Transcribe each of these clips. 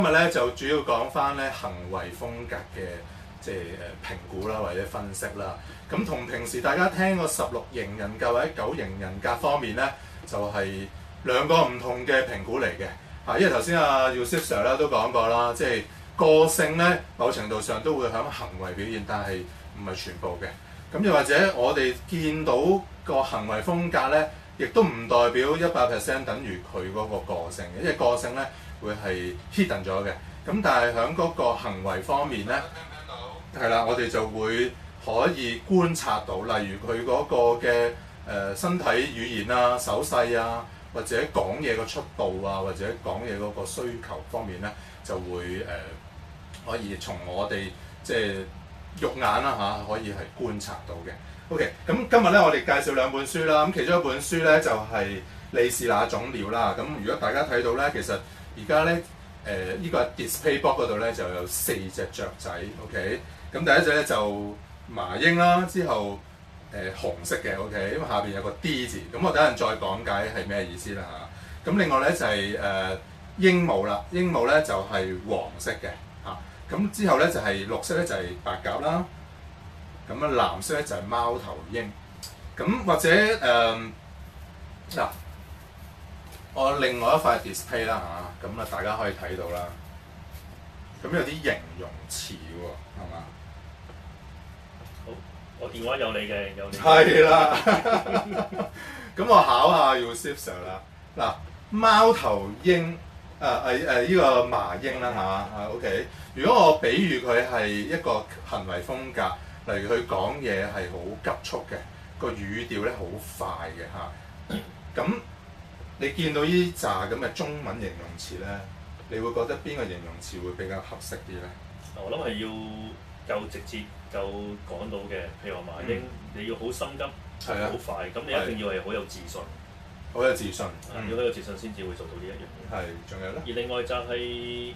今日咧就主要講翻咧行為風格嘅即係評估啦，或者分析啦。咁同平時大家聽個16型人格或者9型人格方面咧，就係兩個唔同嘅評估嚟嘅。嚇，因為頭先阿 Yusuf Sir 咧都講過啦，即係個性咧某程度上都會響行為表現，但係唔係全部嘅。咁又或者我哋見到個行為風格咧，亦都唔代表100% 等於佢嗰個個性嘅，因為個性咧會係 hidden 咗嘅。咁但係喺嗰個行為方面咧，係啦，我哋就會可以觀察到，例如佢嗰個嘅身體語言啊、手勢啊，或者講嘢嘅速度啊，或者講嘢嗰個需求方面咧，就會可以從我哋即係肉眼啦嚇，可以係觀察到嘅。OK， 咁今日咧我哋介紹兩本書啦。咁其中一本書咧就係、是《你是那種鳥》啦。咁如果大家睇到咧，其實而家咧呢個 display box 嗰度咧就有4隻雀仔。OK， 咁第一隻咧就麻鷹啦，之後紅色嘅 OK， 咁下邊有個 D 字。咁我等陣再講解係咩意思啦嚇。咁另外咧就係鸚鵡啦，鸚鵡咧就係黃色嘅嚇。咁之後咧就係綠色咧就係白鴿啦。咁啊藍色咧就係貓頭鷹。咁或者嗱，我另外一塊 display 啦嚇，咁啊大家可以睇到啦。咁有啲形容詞喎，係嘛？ 好，我電話有你嘅，有你。 係啦。咁我考下 Yusuf Sir 啦。嗱，貓頭鷹呢個麻鷹啦嚇，OK。如果我比喻佢係一個行為風格，例如佢講嘢係好急促嘅，個語調咧好快嘅嚇。咁你見到呢紮咁嘅中文形容詞咧，你會覺得邊個形容詞會比較合適啲咧？ 我諗係要夠直接、夠講到嘅，譬如話麻鷹，你要好心急、好快，咁你一定要係好有自信。 好有自信， 要好有自信先至會做到呢一樣嘢。 係，仲有咧？ 而另外就係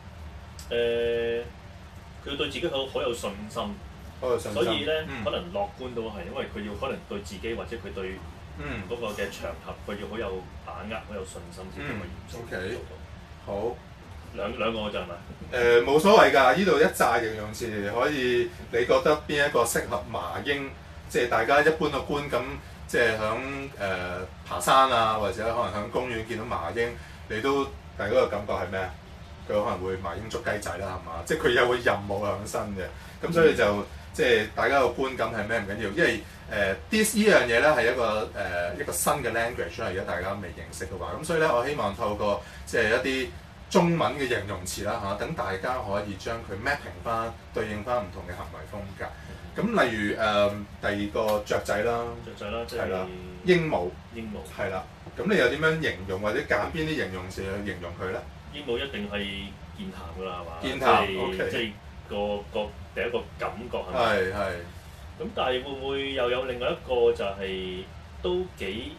佢對自己好有信心。所以咧，可能樂觀都係，因為佢要可能對自己或者佢對嗰個嘅場合，佢要好有把握、好有信心先可以做到。 好， 兩個就係咪？ 冇所謂㗎，呢度一紮形容詞可以，你覺得邊一個適合麻鷹？即係大家一般嘅觀感，即係響爬山啊，或者可能響公園見到麻鷹，你都大家個感覺係咩啊？佢可能會麻鷹捉雞仔啦，係嘛？即係佢有個任務喺身嘅，咁所以就。即係大家個觀感係咩唔緊要，因為this 呢樣嘢咧係一個新嘅 language 啦，而家大家未認識嘅話，咁所以咧我希望透過即係一啲中文嘅形容詞啦嚇，等大家可以將佢 mapping 翻對應翻唔同嘅行為風格。咁例如第二個雀仔啦， 即係鸚鵡， 鸚鵡係啦。咁你有點樣形容或者揀邊啲形容詞去形容佢咧？ 鸚鵡一定係健談㗎啦，係嘛？ 健談 ，OK。 即係個第一個感覺係咪？ 係。 咁但係會唔會又有另外一個就係都幾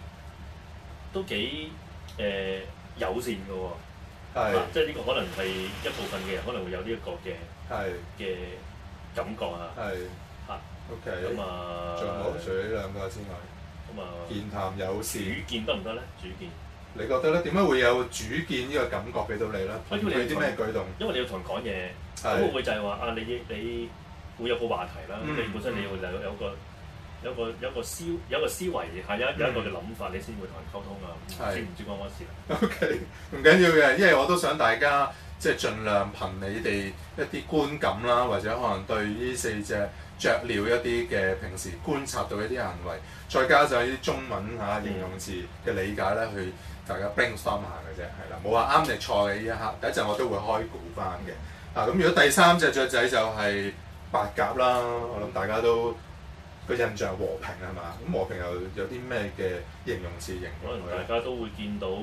友善嘅喎？ 係。 即係呢個可能係一部分嘅人可能會有呢一個嘅感覺啊。 係。 嚇。 OK。 咁啊。 仲有冇？除咗呢兩個之外。 咁啊。 健談友善。 主見得唔得咧？主見。 你覺得咧？點解會有主見呢個感覺俾到你咧？佢啲咩舉動？ 因為你要同人講嘢，咁會唔會就係話啊？你會有個話題啦，你本身你要有個思維係有一個嘅諗法，你先會同人溝通啊。知唔知關乜事啊 ？OK， 唔緊要嘅，因為我都想大家即係盡量憑你哋一啲觀感啦，或者可能對呢4隻雀鳥一啲嘅平時觀察到一啲行為，再加上呢啲中文形容詞嘅理解咧，去大家 brainstorm 下嘅啫，係啦，冇話啱定錯嘅呢一刻。第一陣我都會開估翻嘅。咁如果第3隻雀仔就係白鴿啦，我諗大家都個印象和平係嘛？咁和平又有啲咩嘅形容詞形容？ 可能大家都會見到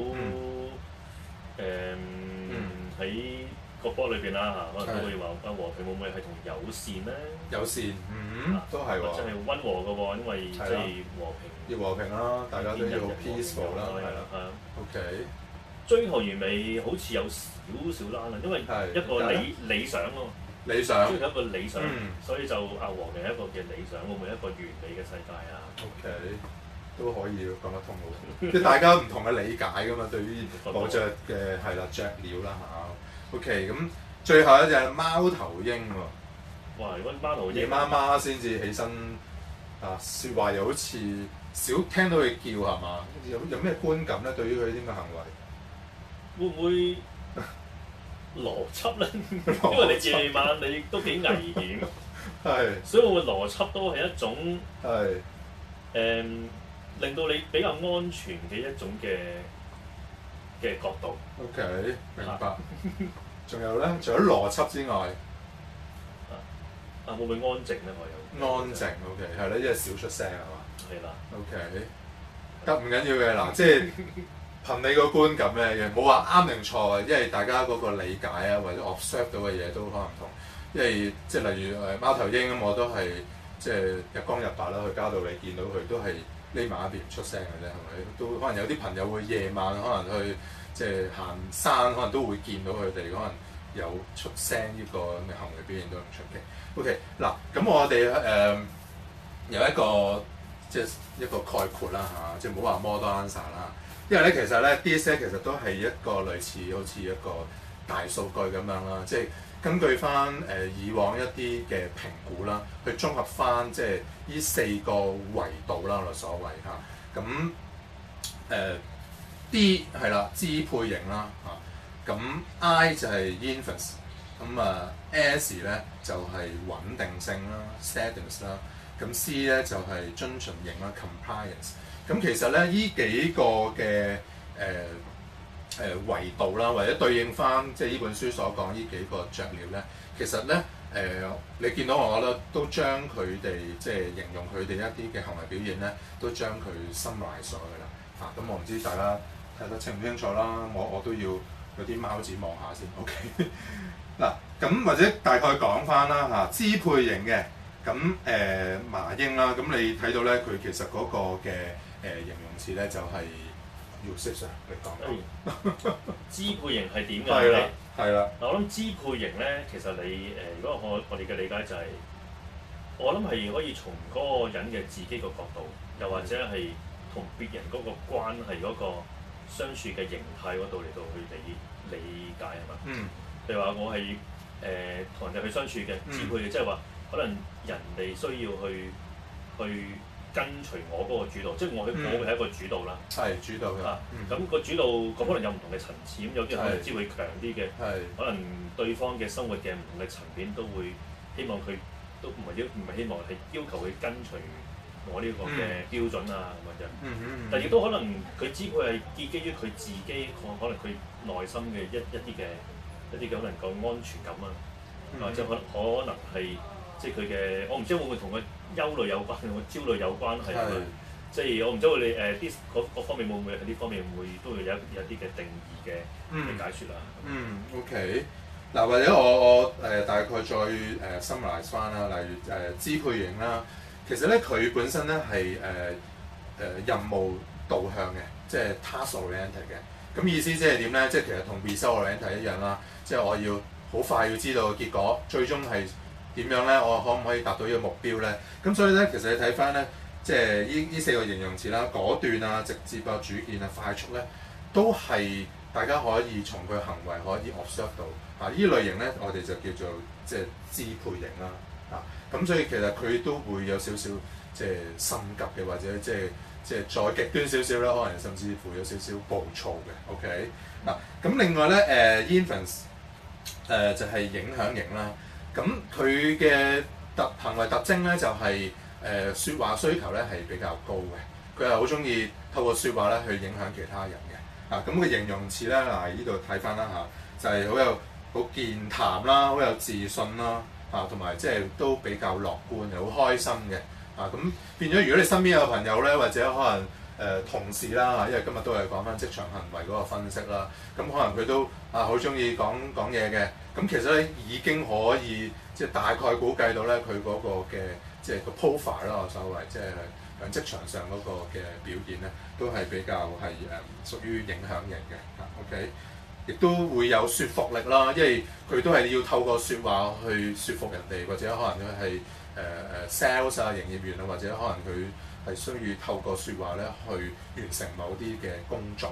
喺個波裏邊啦嚇，可能都會話和平會唔會係同友善咧？ 友善，都係喎。 即係溫和嘅喎，因為即係和平。 要和平啦，大家都要 peaceful 啦，係啦。OK。 追求完美好似有少少難啦，因為一個理想咯。 理想。 追求一個理想，所以就和平係一個嘅理想，會唔會一個完美嘅世界啊 ？OK， 都可以講得通喎。即係大家唔同嘅理解㗎嘛，對於某隻嘅係啦雀鳥啦嚇。 OK， 咁最後一隻貓頭鷹喎。 哇！如果貓頭鷹夜媽媽先至起身啊，説話又好似少聽到佢叫係嘛？有咩觀感咧？對於佢啲咁嘅行為， 會唔會邏輯咧？因為你夜晚你都幾危險， 係， 所以會唔會邏輯都係一種係令到你比較安全嘅一種嘅角度。 OK，明白。仲有咧，除咗邏輯之外， 會唔會安靜咧？我有安靜 OK 係咧，因為少出聲係嘛？ 係啦。 OK，得唔緊要嘅嗱，即係憑你個觀感嘅，冇話啱定錯嘅，因為大家嗰個理解啊或者 observe 到嘅嘢都可能唔同。因為即係例如貓頭鷹咁，我都係即係日光日白啦，去街度你見到佢都係匿埋一邊唔出聲嘅啫，係咪？都可能有啲朋友會夜晚可能去即係行山，可能都會見到佢哋可能有出聲呢個咁嘅行為表現都唔出奇。OK， 嗱咁我哋有一個即係一個概括啦嚇，即係唔好話 model answer 啦。因為咧其實咧 DISC 其實都係一個類似好似一個大數據咁樣啦，即係根據翻以往一啲嘅評估啦，去綜合翻即係呢4個維度啦，我哋所謂嚇。咁D 係啦，支配型啦嚇。咁 I 就係 influence， 咁S 咧就係穩定性啦 steadiness 啦。咁 C 咧就係遵循型啦 compliance。咁其實咧呢幾個嘅維度啦，或者對應翻即係呢本書所講呢幾個雀鳥咧，其實咧你見到我覺得都將佢哋即係形容佢哋一啲嘅行為表現咧，都將佢 summarize 咗㗎啦嚇。咁我唔知大家睇得清唔清楚啦，我都要有啲貓子望下先 OK 嗱。咁或者大概講翻啦嚇，支配型嘅咁麻鷹啦，咁你睇到咧佢其實嗰個嘅形容詞咧就係 usage 你講支配型係點㗎？ 係啦，係啦。 嗱，我諗支配型咧，其實你如果我哋嘅理解就係、我諗係可以從嗰個人嘅自己個角度，又或者係同別人嗰個關係嗰個相處嘅形態嗰度嚟到去理解係嘛？ 嗯。 譬如話我係同人哋去相處嘅支配嘅，即係話可能人哋需要去跟隨我嗰個主導，即係我會係一個主導啦。 係主導嘅。 咁個主導可能有唔同嘅層次，咁有啲人可能支配強啲嘅，可能對方嘅生活嘅唔同嘅層面都會希望佢都唔係希望係要求佢跟隨我呢個嘅標準啊咁樣。但亦都可能佢支配係建基於佢自己可能佢內心嘅一啲嘅可能個安全感啊，或者可能係即係佢嘅，我唔知會唔會同佢憂慮有關，同佢焦慮有關係。即係我唔知你啲嗰方面會唔會喺呢方面會都會有啲嘅定義嘅解説啦。 OK。嗱，或者我大概再summarize 翻啦，例如支配型啦，其實咧佢本身咧係任務導向嘅，即係 task oriented 嘅。咁意思即係點咧？即係其實同 result oriented 一樣啦，即係我要好快要知道結果，最終係點樣咧？我可唔可以達到呢個目標咧？咁所以咧，其實你睇翻咧，即係呢4個形容詞啦，果斷啊、直接啊、主見啊、快速咧，都係大家可以從佢行為可以 observe 到。呢類型咧，我哋就叫做即係支配型啦。咁所以其實佢都會有少少即係心急嘅，或者即係再極端少少啦，可能甚至乎有少少暴躁嘅。OK。咁另外咧influence 就係影響型啦。咁佢嘅行為特徵咧就係説話需求咧係比較高嘅，佢係好中意透過説話咧去影響其他人嘅。咁佢形容詞咧呢度睇翻啦就係好健談啦，好有自信啦，同埋即係都比較樂觀，又好開心嘅。咁變咗，如果你身邊有朋友咧，或者可能同事啦，因為今日都係講翻職場行為嗰個分析啦，咁可能佢都好中意講嘢嘅。咁其實咧已經可以即係大概估計到咧佢嗰個嘅即係個 profile 啦，我所謂即係喺職場上嗰個嘅表現咧，都係比較係屬於影響型嘅。OK。亦都會有說服力啦，因為佢都係要透過説話去説服人哋，或者可能佢係sales 啊、營業員啊，或者可能佢係需要透過説話咧去完成某啲嘅工作嘅。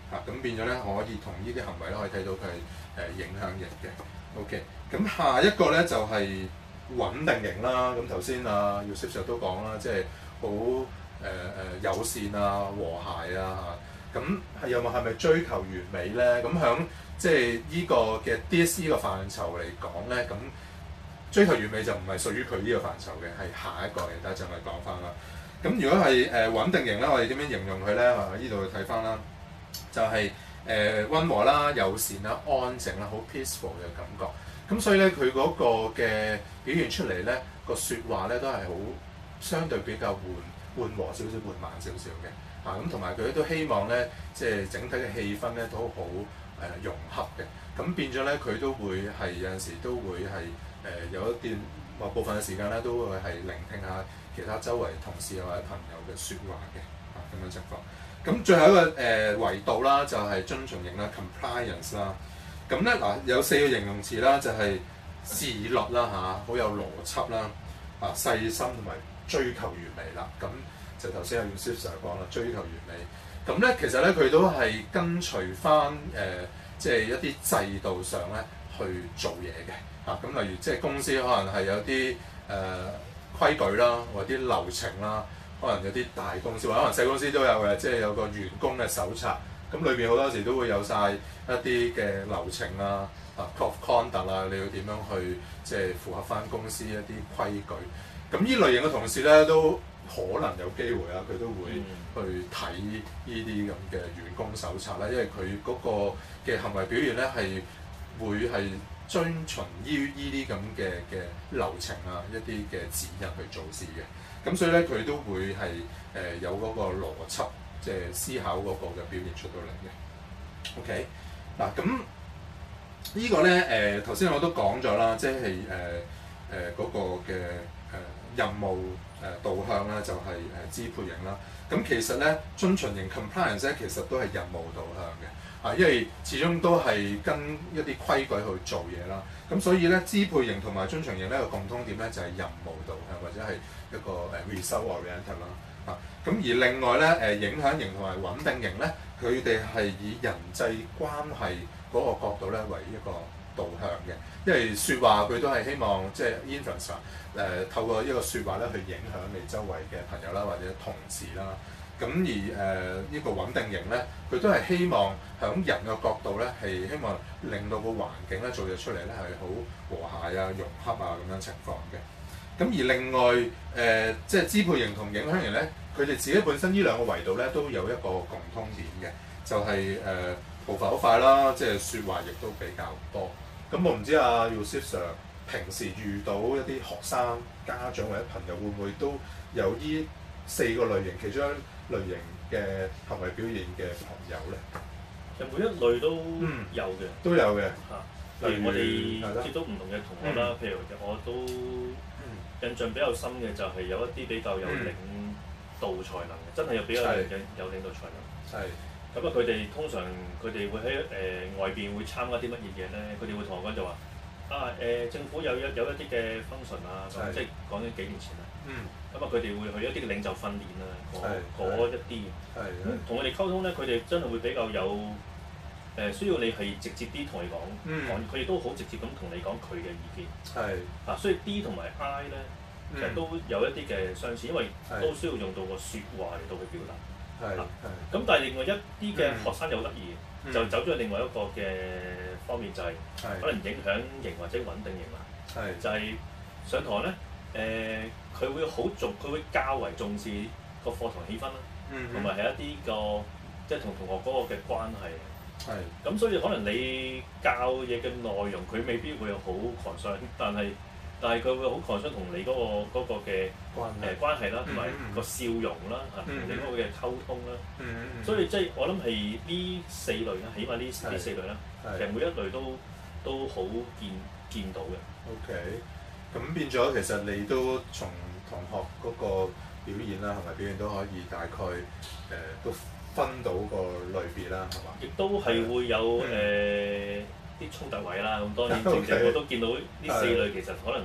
咁變咗咧可以同呢啲行為咧可以睇到佢係影響型嘅。OK， 咁下一個咧就係穩定型啦。咁頭先啊姚 Sir 都講啦，即係好友善啊、和諧啊嚇。咁係咪追求完美咧？咁響即係呢個嘅 DSE 個範疇嚟講咧，咁追求完美就唔係屬於佢呢個範疇嘅，係下一個嘅。等陣我哋講翻啦。咁如果係穩定型咧，我哋點樣形容佢咧？呢度睇翻啦，就係溫和啦、友善啦、安靜啦、好 peaceful 嘅感覺。咁所以咧，佢嗰個嘅表現出嚟咧，個説話咧都係好相對比較緩和少少、緩慢少少嘅。咁同埋佢都希望咧，即係整體嘅氣氛咧都好融洽嘅。咁變咗咧，佢都會係有陣時都會係有一段某部分嘅時間咧，都會係聆聽下其他周圍同事或者朋友嘅説話嘅咁樣情況。咁最後一個維度啦，就係遵從型啦 （compliance） 啦。咁咧有4個形容詞啦，就係自律啦好有邏輯啦，細心同埋追求完美啦。咁就頭先阿 Yusuf 講啦，追求完美。咁咧其實咧佢都係跟隨翻即係一啲制度上咧去做嘢嘅。咁例如即係公司可能係有啲規矩啦，或者啲流程啦，可能有啲大公司或者可能細公司都有嘅，即係有個員工嘅手冊。咁裏邊好多時都會有晒一啲嘅流程啊，code of conduct 啊，你要點樣去即係符合翻公司一啲規矩。咁呢類型嘅同事咧都可能有機會啊，佢都會去睇呢啲咁嘅員工手冊啦，因為佢嗰個嘅行為表現咧係會係遵循於呢啲咁嘅流程啊，一啲嘅指引去做事嘅。咁所以咧佢都會係有嗰個邏輯，即係思考嗰個嘅表現出到嚟嘅。OK， 嗱咁呢個咧頭先我都講咗啦，即係嗰個嘅任務導向咧就係支配型啦。咁其實咧遵循型 compliance 咧其實都係任務導向嘅，因為始終都係跟一啲規矩去做嘢啦。咁所以咧支配型同埋遵循型呢個共通點咧就係任務導向或者係一個result oriented 啦。咁而另外咧影響型同埋穩定型咧，佢哋係以人際關係嗰個角度咧為一個導向嘅，因為説話佢都係希望即係 influence 透過一個説話咧去影響你周圍嘅朋友啦或者同事啦。咁而呢個穩定型咧，佢都係希望響人嘅角度咧係希望令到個環境咧做嘢出嚟咧係好和諧啊、融洽啊咁樣情況嘅。咁而另外即係支配型同影響型咧，佢哋自己本身呢兩個維度咧都有一個共通點嘅，就係步伐好快啦，即係説話亦都比較多。咁我唔知阿 Yusuf Sir 平時遇到一啲學生、家長或者朋友，會唔會都有呢4個類型其中一類型嘅行為表現嘅朋友咧？ 其實每一類都有嘅， 都有嘅。 例如我哋接觸唔同嘅同學啦，譬如我都印象比較深嘅就係有一啲比較有領導才能嘅，真係有比較有領導才能。 係。 咁佢哋通常佢哋會喺外邊會參加啲乜嘢嘢咧？佢哋會同我講就話政府有一啲嘅 function 啊，即係講緊幾年前啦。咁佢哋會去一啲嘅領袖訓練啊，嗰一啲。同佢哋溝通咧，佢哋真係會比較有需要你係直接啲同佢講，佢亦都好直接咁同你講佢嘅意見。所以 D 同埋 I 咧，其實都有一啲嘅相似，因為都需要用到個説話嚟到去表達。咁但係另外一啲嘅學生又得意，就走咗去另外一個嘅方面，就係可能影響型或者穩定型啦。就係上堂咧，佢會佢會較為重視個課堂氣氛啦，同埋係一啲個即係同同學嗰個嘅關係。咁所以可能你教嘢嘅內容，佢未必會好 concern，但係佢會好 concern同你嗰個嘅關係啦，同埋個笑容啦，同你嗰個嘅溝通啦。所以即係我諗係呢4類啦，起碼呢4類啦，其實每一類都好見到嘅。 OK， 咁變咗其實你都從同學嗰個表現啦，同埋表現都可以大概都分到個類別啦，係嘛？ 亦都係會有啲衝突位啦。咁當然正正我都見到呢4類其實可能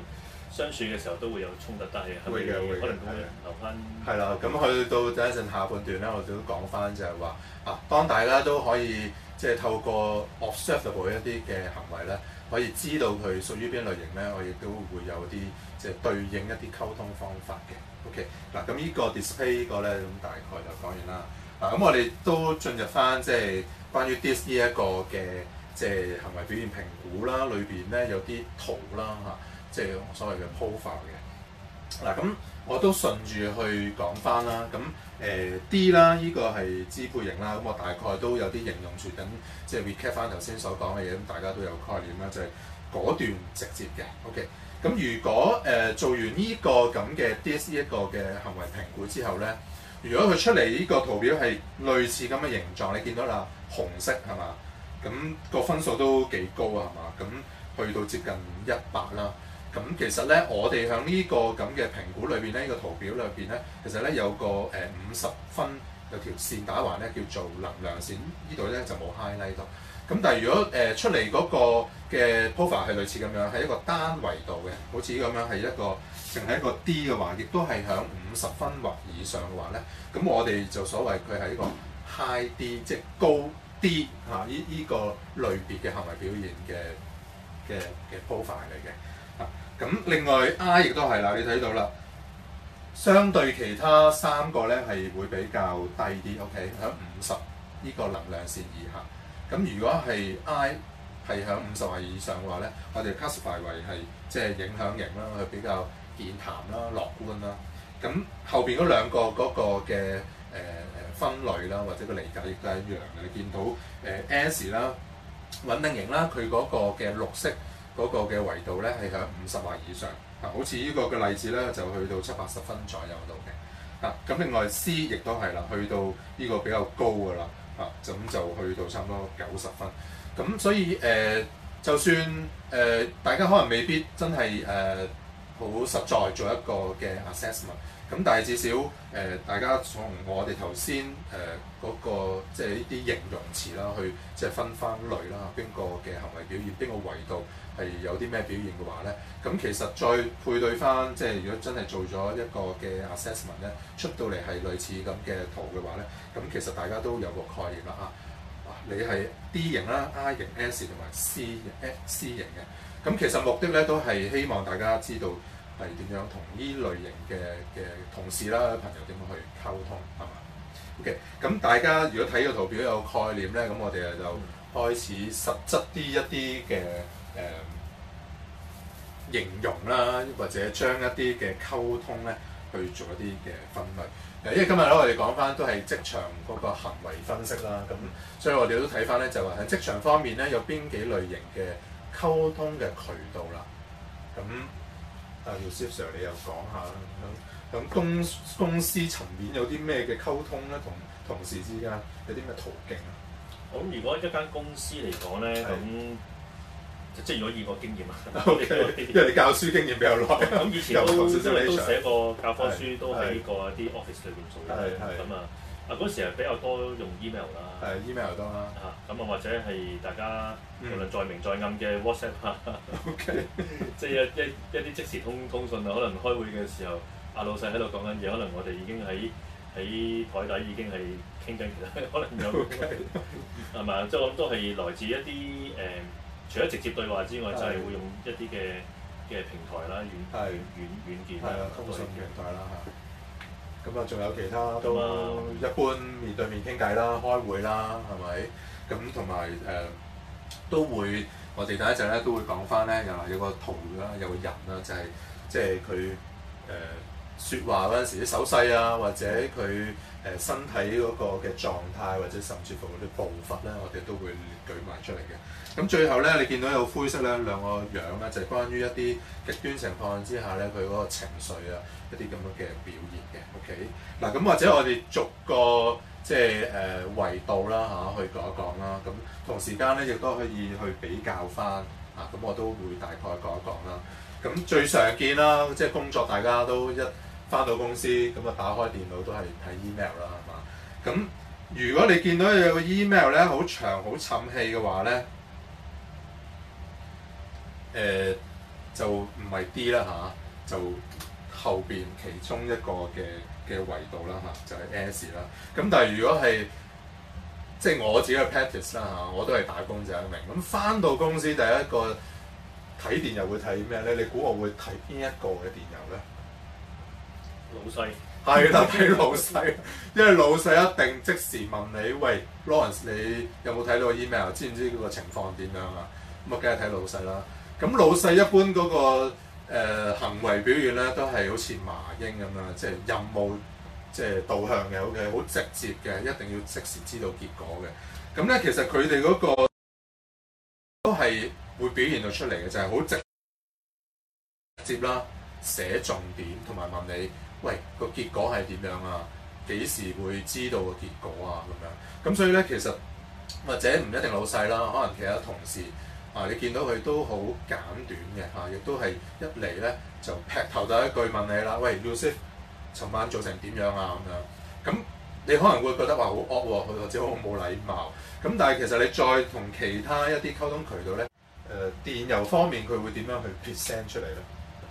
相處嘅時候都會有衝突，但係會嘅可能會留翻。 係啦，咁去到第一陣下半段咧，我哋都講翻就係話當大家都可以即係透過 observable 一啲嘅行為咧，可以知道佢屬於邊類型咧，我亦都會有啲即係對應一啲溝通方法嘅。OK， 嗱咁呢個 display 呢個咧，咁大概就講完啦。咁我哋都進入翻即係關於 DISC 呢一個嘅即係行為表現評估啦，裏邊咧有啲圖啦即係所謂嘅 profile 嘅。嗱咁我都順住去講翻啦。咁D 啦，呢個係支配型啦。咁我大概都有啲形容詞等，即係 recap 翻頭先所講嘅嘢，咁大家都有概念啦，就係果斷直接嘅。OK，咁如果做完呢個咁嘅 DISC 一個嘅行為評估之後咧，如果佢出嚟呢個圖表係類似咁嘅形狀，你見到啦，紅色係嘛？咁個分數都幾高啊，係嘛？咁去到接近100啦。咁其實咧，我哋喺呢個咁嘅評估裏邊咧，呢個圖表裏邊咧，其實咧有個50分有條線打橫咧，叫做能量線。呢度咧就冇 highlight 到。咁但係如果出嚟嗰個嘅 profile 係類似咁樣，係一個單維度嘅，好似咁樣係一個淨係一個 D 嘅話，亦都係響50分或以上嘅話咧，咁我哋就所謂佢係一個 high D， 即係高 D 呢個類別嘅行為表現嘅 profile 嚟嘅。咁另外 I 亦都係啦，你睇到啦，相對其他3個咧係會比較低啲 ，OK， 喺50呢個能量線以下。咁如果係 I 係喺50或以上嘅話咧，我哋 classify 為係即係影響型啦，佢比較健談啦、樂觀啦。咁後邊嗰兩個嗰個嘅分類啦，或者個理解亦都係一樣嘅。你見到S 啦，穩定型啦，佢嗰個嘅綠色嗰個嘅維度咧係喺50或以上。好似呢個嘅例子咧就去到70-80分左右度嘅。咁另外 C 亦都係啦，去到呢個比較高㗎啦。咁就去到差唔多90分。咁所以就算大家可能未必真係好實在做一個嘅 assessment，咁但係至少大家從我哋頭先嗰個即係呢啲形容詞啦，去即係分類啦，邊個嘅行為表現，邊個維度係有啲咩表現嘅話咧，咁其實再配對翻，即係如果真係做咗一個嘅 assessment 咧，出到嚟係類似咁嘅圖嘅話咧，咁其實大家都有個概念啦你係 D 型啦、I 型、S 同埋 C 型嘅，咁其實目的咧都係希望大家知道係點樣同呢類型嘅同事啦、朋友點樣去溝通，係嘛 ？OK， 咁大家如果睇個圖表有概念咧，咁我哋就開始實質一啲嘅形容啦，或者將一啲嘅溝通咧去做一啲嘅分類。因為今日咧我哋講翻都係職場嗰個行為分析啦，咁所以我哋都睇翻咧就話喺職場方面咧有邊幾類型嘅溝通嘅渠道啦。咁Yusuf Sir 你又講下啦，喺公司層面有啲咩嘅溝通咧，同同事之間有啲咩途徑啊？ 咁如果一間公司嚟講咧，咁即係如果以我經驗啊， 因為你教書經驗比較耐， 咁以前都寫過教科書，都喺個啲 office 裏邊做嘅，咁嗰時係比較多用 email 啦 ，email 多啦， 咁或者係大家無論在明在暗嘅 WhatsApp 即係一啲即時通訊啊，可能開會嘅時候，老細喺度講緊嘢，可能我哋已經喺台底已經係傾緊其他，可能有係咪？即係我諗都係來自一啲除咗直接對話之外，就係會用一啲嘅平台啦、軟件啦、 通訊平台啦咁仲有其他都一般面對面傾偈啦、開會啦，係咪？咁同埋都會，我哋第一陣咧都會講翻咧，有個圖啦，有個人啦，就係即係佢説話嗰陣時啲手勢啊，或者佢身體嗰個嘅狀態，或者甚至乎嗰啲步伐咧，我哋都會舉埋出嚟嘅。咁最後咧，你見到有灰色咧兩個樣咧，就係關於一啲極端情況之下咧，佢嗰個情緒啊，一啲咁樣嘅表現嘅。OK，嗱咁或者我哋逐個即係維度啦去講一講啦。咁同時間咧亦都可以去比較翻咁我都會大概講一講啦。咁最常見啦，即係工作大家都一翻到公司咁打開電腦都係睇 email 啦，係嘛？咁如果你見到有個 email 咧好長好沉氣嘅話咧， 就唔係 D 啦嚇，就後邊其中一個嘅維度啦嚇，就係 S 啦。咁但係如果係即係我自己嘅 practice 啦嚇，我都係打工仔一名。咁翻到公司第一個睇電郵會睇咩咧？你估我會睇邊一個嘅電郵咧？ 老細係啦，睇老細，因為老細一定即時問你，喂 Lawrence，你有冇睇到個 email？ 知唔知嗰個情況點樣啊？咁啊，梗係睇老細啦。咁老細一般嗰個行為表現咧，都係好似麻鷹咁樣，即係任務即係導向嘅，OK，好直接嘅，一定要即時知道結果嘅。咁咧，其實佢哋嗰個都係會表現到出嚟嘅，就係好直接啦，寫重點同埋問你，喂，個結果係點樣啊？幾時會知道個結果啊？咁樣咁所以咧，其實或者唔一定老細啦，可能其他同事啊，你見到佢都好簡短嘅嚇，亦都係一嚟咧就劈頭第一句問你啦，喂 Yusuf， 尋晚做成點樣啊？咁樣咁你可能會覺得話好惡喎，或者好冇禮貌。咁但係其實你再同其他一啲溝通渠道咧，電郵方面佢會點樣去 present 出嚟咧？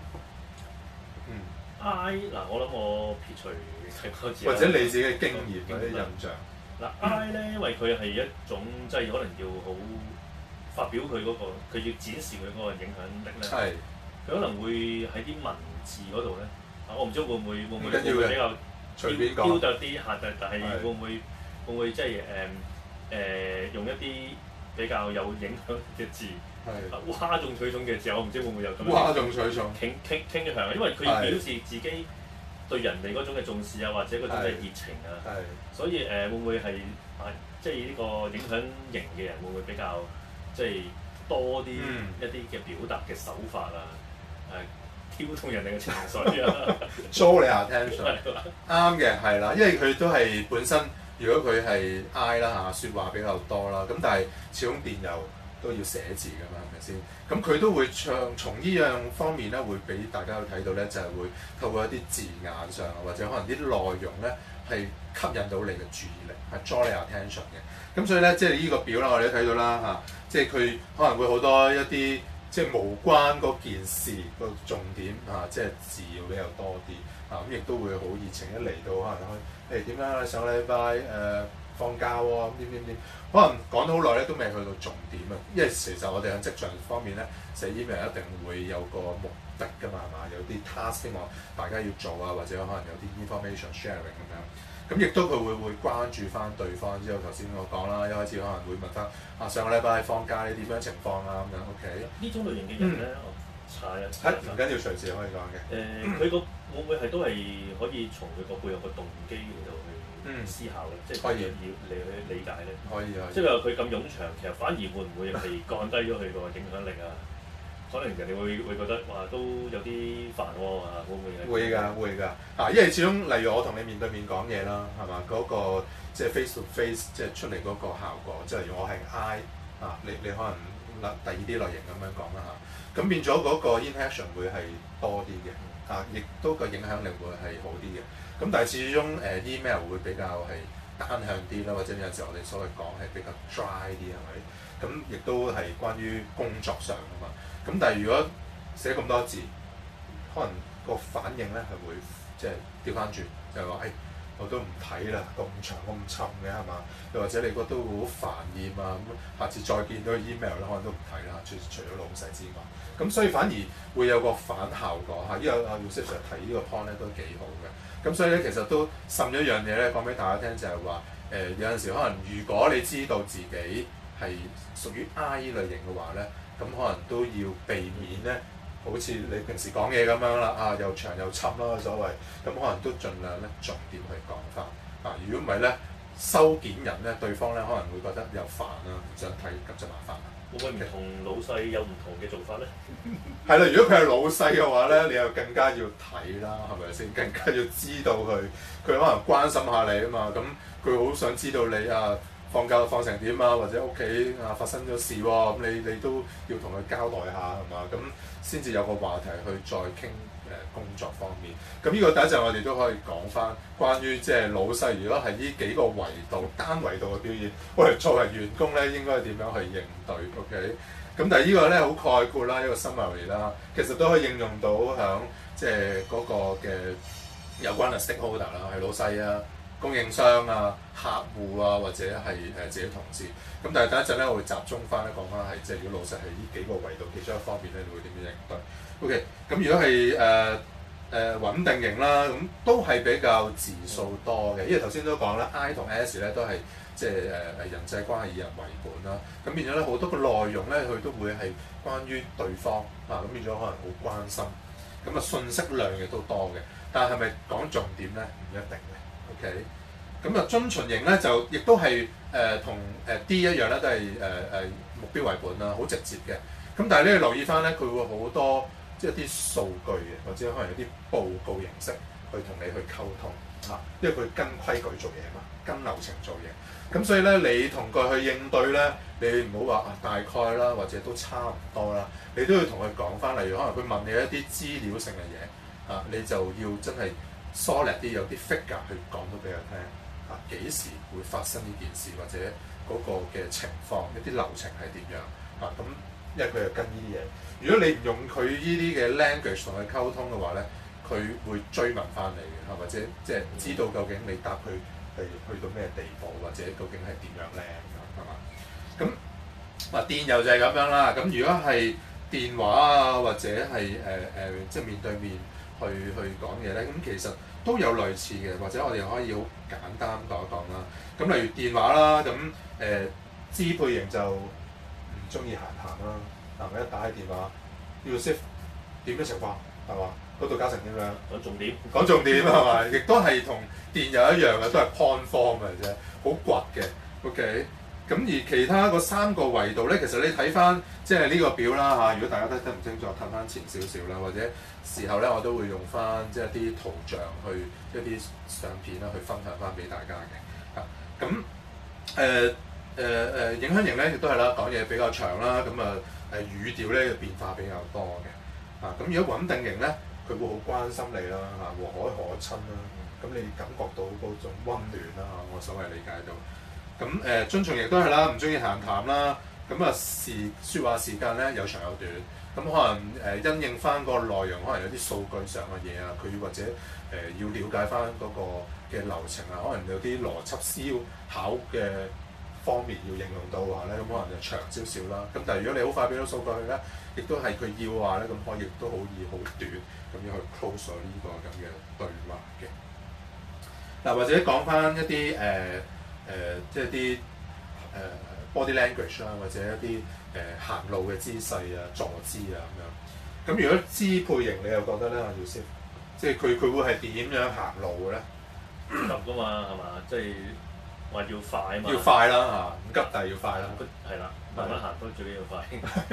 I 嗱，我諗我撇除睇嗰字， 或者你自己嘅經驗或者印象。 嗱 I 咧，因為佢係一種即係可能要好發表佢嗰個，佢要展示佢嗰個影響力咧。係。佢可能會喺啲文字嗰度咧，我唔知會唔會比較隨便講雕琢啲嚇，但係會唔會即係用一啲比較有影響嘅字？嘩眾取寵嘅字，我唔知會唔會有咁樣嘩眾取寵傾向，因為佢要表示自己對人哋嗰種嘅重視啊，或者嗰種嘅熱情啊，所以會唔會係即係呢個影響型嘅人會唔會比較即係多啲一啲嘅表達嘅手法啊，挑動人哋嘅情緒啊 ，draw 你 attention， 啱嘅係啦，因為佢都係本身如果佢係 I 啦嚇，説話比較多啦，咁但係始終電郵都要寫字㗎嘛，係咪先？咁佢都會從呢樣方面咧，會俾大家睇到咧，就係會透過一啲字眼上，或者可能啲內容咧，係吸引到你嘅注意力，係 draw 你 attention 嘅。咁所以咧，即係呢個表啦，我哋都睇到啦嚇，即係佢可能會好多一啲即係無關嗰件事個重點嚇，即係字要比較多啲啊，咁亦都會好熱情一嚟到可能點樣上個禮拜放假喎，點，可能講到好耐咧都未去到重點啊，因為其實我哋喺職場方面咧寫 email 一定會有個目的㗎嘛，係嘛？有啲 task 希望大家要做啊，或者可能有啲 information sharing 咁樣，咁亦都佢會關注翻對方。之後頭先我講啦，一開始可能會問翻上個禮拜放假你點樣情況啊咁樣 ，OK？ 呢種類型嘅人咧，我查一唔緊要，隨時可以講嘅。 佢個會唔會係都係可以從佢個背後個動機嚟到去思考咧，即係要嚟去理解咧。可以。即係話佢咁冗長，其實反而會唔會係降低咗佢個影響力啊？可能人哋會覺得哇都有啲煩喎啊，會唔會？ 會㗎因為始終例如我同你面對面講嘢啦，係嘛？嗰個即係 face to face 即係出嚟嗰個效果，即係例如我係 I 你可能第二啲類型咁樣講啦嚇，咁變咗嗰個 interaction 會係多啲嘅亦都個影響力會係好啲嘅。咁但係始終email 會比較係單向啲啦，或者有陣時我哋所謂講係比較 dry 啲係咪？咁亦都係關於工作上啊嘛。咁但係如果寫咁多字，可能個反應咧係會即係調翻轉，就係話我都唔睇啦，咁長咁沉嘅係嘛？又或者你覺得會好煩厭啊咁，下次再見到 email 咧，可能都唔睇啦，除咗老細之外。咁所以反而會有個反效果呢個阿 Yusuf Sir 提呢個 point 咧都幾好嘅。咁所以咧其實都滲咗一樣嘢咧講俾大家聽，就係話有陣時可能如果你知道自己係屬於 I 類型嘅話咧，咁可能都要避免咧，好似你平時講嘢咁樣啦，又長又沉啦所謂，咁可能都盡量咧重點去講翻如果唔係咧，收件人咧對方咧可能會覺得又煩啦，唔想睇咁就麻煩啦。 會唔會唔同老細有唔同嘅做法咧？ 係啦，如果佢係老細嘅話咧，你又更加要睇啦，係咪先？更加要知道佢可能關心下你啊嘛，咁佢好想知道你放假放成點啊，或者屋企發生咗事喎，咁你都要同佢交代下係嘛，咁先至有個話題去再傾工作方面。咁呢個第一陣我哋都可以講翻關於即係老細，如果係呢幾個維度單維度嘅表現，我哋作為員工咧應該點樣去應對 ？OK？ 咁但係呢個咧好概括啦，一個 summary 啦，其實都可以應用到響即係嗰個嘅有關嘅 stakeholder 啦，係老細啊、供應商啊、客戶啊，或者係自己同事。咁但係第一陣咧，我會集中翻咧講翻係即係如果老細係呢幾個維度其中一方面咧，你會點樣應對 ？OK，咁如果係穩定型啦，咁都係比較字數多嘅，因為頭先都講啦 ，I 同 S 咧都係即係人際關係以人為本啦。咁變咗咧好多個內容咧，佢都會係關於對方啊，咁變咗可能好關心。咁啊信息量亦都多嘅，但係咪講重點咧？唔一定嘅。OK，咁啊遵循型咧就亦都係同D 一樣咧，都係目標為本啦，好直接嘅。咁但係咧留意翻咧，佢會好多即係啲數據嘅，或者可能有啲報告形式去同你去溝通嚇，因為佢跟規矩做嘢嘛，跟流程做嘢。咁所以咧，你同佢去應對咧，你唔好話大概啦，或者都差唔多啦，你都要同佢講翻。例如可能佢問你一啲資料性嘅嘢啊，你就要真係 solid 啲，有啲 figure 去講到俾佢聽啊，幾時會發生呢件事，或者嗰個嘅情況，一啲流程係點樣啊？咁因為佢係跟呢啲嘢。如果你唔用佢呢啲嘅 language 同佢溝通嘅話咧，佢會追問翻你嘅，或者即係知道究竟你答佢係去到咩地步，或者究竟係點樣咧，係嘛？咁電郵就係咁樣啦。咁如果係電話啊，或者係即係面對面去講嘢咧，咁其實都有類似嘅，或者我哋可以好簡單講一講啦。咁例如電話啦，咁支配型就唔中意閒談啦。嗱，我一打起電話，要識點嘅情況係嘛？嗰度加成點樣？ 講重點， 講重點係嘛？亦都係同電郵一樣嘅，都係 point form 嘅啫，好掘嘅。OK，咁而其他嗰3個維度咧，其實你睇翻即係呢個表啦嚇。如果大家睇唔清楚，睇翻前少少啦，或者時候咧，我都會用翻即係一啲圖像去一啲相片啦，去分享翻俾大家嘅嚇。咁影響型咧，亦都係啦，講嘢比較長啦，咁語調咧變化比較多嘅啊。咁如果穩定型咧，佢會好關心你啦嚇，和藹可親啦，咁你感覺到嗰種溫暖啦嚇，我所謂理解到。咁遵從亦都係啦，唔中意閒談啦。咁説話時間咧有長有短。咁可能因應翻個內容，可能有啲數據上嘅嘢啊，佢或者要了解翻嗰個嘅流程啊，可能有啲邏輯思考嘅方面要應用到嘅話咧，咁可能就長少少啦。咁但係如果你好快俾到數據佢咧，亦都係佢要嘅話咧，咁可以亦都好易好短咁樣去 close 咗呢個咁嘅對話嘅。嗱，或者講翻一啲即係啲body language 啦，或者一啲行路嘅姿勢啊、坐姿啊咁樣。咁如果支配型，你又覺得咧，阿耀先，即係佢會係點樣行路嘅咧？ 急噶嘛，係嘛？即係話要快啊嘛。要快啦嚇，唔急但係要快啦。 係啦，慢慢行都最緊要快。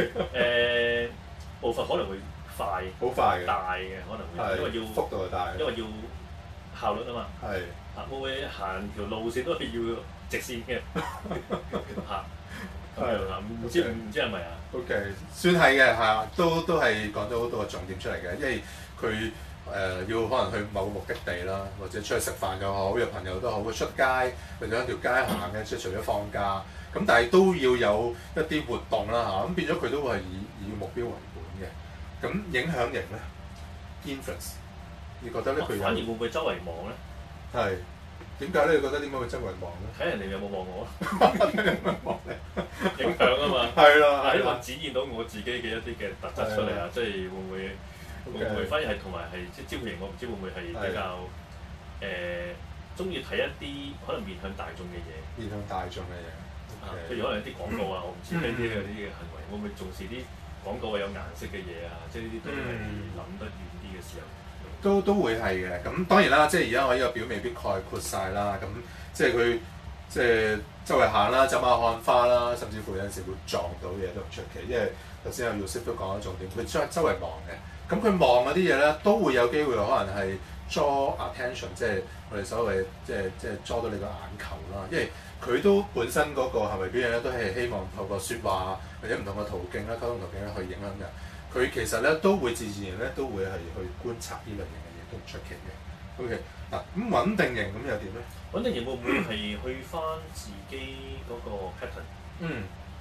步伐可能會快， 好快嘅， 大嘅可能會，因為要幅度係大， 因為要效率啊嘛。 係。 會唔會行條路線都係要直線嘅嚇？唔知係咪啊 ？OK， 算係嘅嚇，都係講咗好多個重點出嚟嘅，因為佢要可能去某個目的地啦，或者出去食飯又好，約朋友都好，出街或者一條街行嘅，即係除咗放假，咁但係都要有一啲活動啦嚇，咁變咗佢都會係以目標為本嘅。咁影響型咧 ，influence， 你覺得咧佢反而會唔會周圍望咧？ 係點解咧？你覺得點解會周圍望咧？ 睇人哋有冇望我咯，影響啊嘛。 係啦， 希望展現到我自己嘅一啲嘅特質出嚟啊！即係會唔會反而係同埋係即係招型，我唔知會唔會係比較中意睇一啲可能面向大眾嘅嘢。 面向大眾嘅嘢， 譬如可能有啲廣告啊，我唔知呢啲嗰啲嘅行為，會唔會重視啲廣告有顏色嘅嘢啊？即係呢啲都係諗得遠啲嘅時候。 都會係嘅，咁當然啦，即係而家我呢個表未必概括晒啦，咁即係佢即係周圍行啦，走馬看花啦，甚至乎有陣時會撞到嘢都唔出奇，因為頭先阿 Yusuf 都講咗重點，佢周圍望嘅，咁佢望嗰啲嘢咧都會有機會可能係 draw attention， 即係我哋所謂即係 draw 到你個眼球啦，因為佢都本身嗰個行為表現咧都係希望透過説話或者唔同嘅途徑啦、溝通途徑咧去影響人。佢其實咧都會自然咧都會係去觀察呢類型嘅嘢，都唔出奇嘅。OK，嗱咁穩定型咁又點咧？ 穩定型會唔會係去翻自己嗰個 pattern？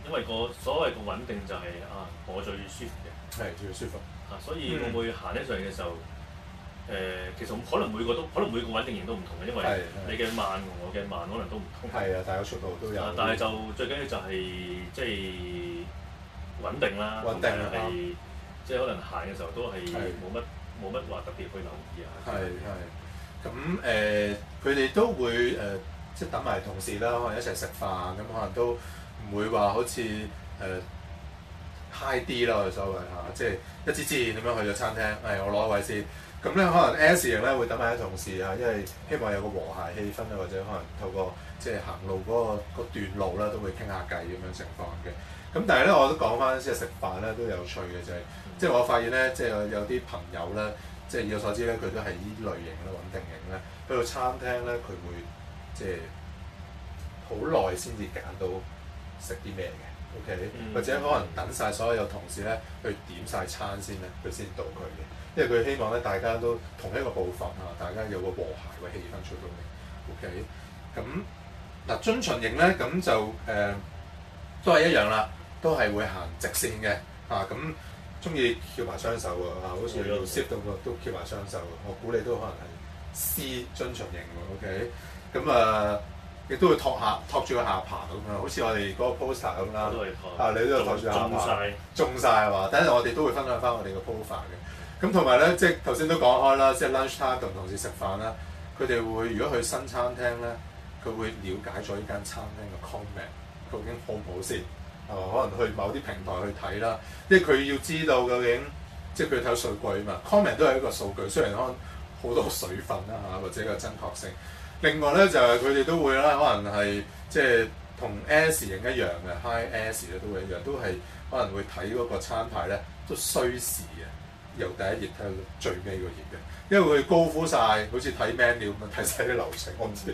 因為個所謂個穩定就係、我最舒服嘅， 係最舒服。 所以會唔會行起上嚟嘅時候，其實可能每個穩定型都唔同嘅，因為你嘅慢同我嘅慢可能都唔同。 係啊，大家速度都有。 但係就最緊要就係即係穩定啦， 穩定啦， 係即係可能行嘅時候都係冇乜話特別去留意啊。 係。咁佢哋都會即係等埋同事啦，可能一齊食飯，咁可能都唔會話好似high 啲啦，我哋所謂嚇，即係一支箭咁樣去咗餐廳，我攞位先。咁咧可能 S 型咧會等埋啲同事啊，因為希望有個和諧氣氛啊，或者可能透過即係行路嗰段路啦，都會傾下偈咁樣情況嘅。咁但係咧，我都講翻即係食飯咧都有趣嘅就係，即係我發現咧，即係有啲朋友咧，即係以我所知咧，佢都係依類型啦，穩定型咧，去到餐廳咧，佢會即係好耐先至揀到食啲咩嘅。OK，或者可能等晒所有同事咧去點晒餐先咧，佢先到佢嘅，因為佢希望咧大家都同一個步伐啊，大家有個和諧嘅氣氛出到嚟。OK，咁嗱遵循型咧咁就都係一樣啦，都係會行直線嘅咁中意翹埋雙手喎好似要 shift 到個都翹埋雙手，我估你都可能係 C 遵循型喎。OK，咁亦都會托住個下巴咁樣，好似我哋嗰個 poster 咁啦。你都有托住下巴，中晒係嘛？等陣我哋都會分享翻我哋個 profile 嘅。咁同埋咧，即係頭先都講開啦，即係 lunch time 同同事食飯啦，佢哋會如果去新餐廳咧，佢會了解咗呢間餐廳嘅 comment 究竟好唔好先，係嘛？可能去某啲平台去睇啦，因為佢要知道究竟，即係佢睇數據啊嘛。comment 都係一個數據，雖然可能好多水分啦或者個真確性。另外咧就係佢哋都會啦，可能係即係同 S 型一樣嘅 ，High S 咧都會一樣，都係可能會睇嗰個餐牌咧都需時嘅，由第一頁睇到最尾個頁嘅，因為佢高呼晒，好似睇 menu 咁樣睇晒啲流程。我唔知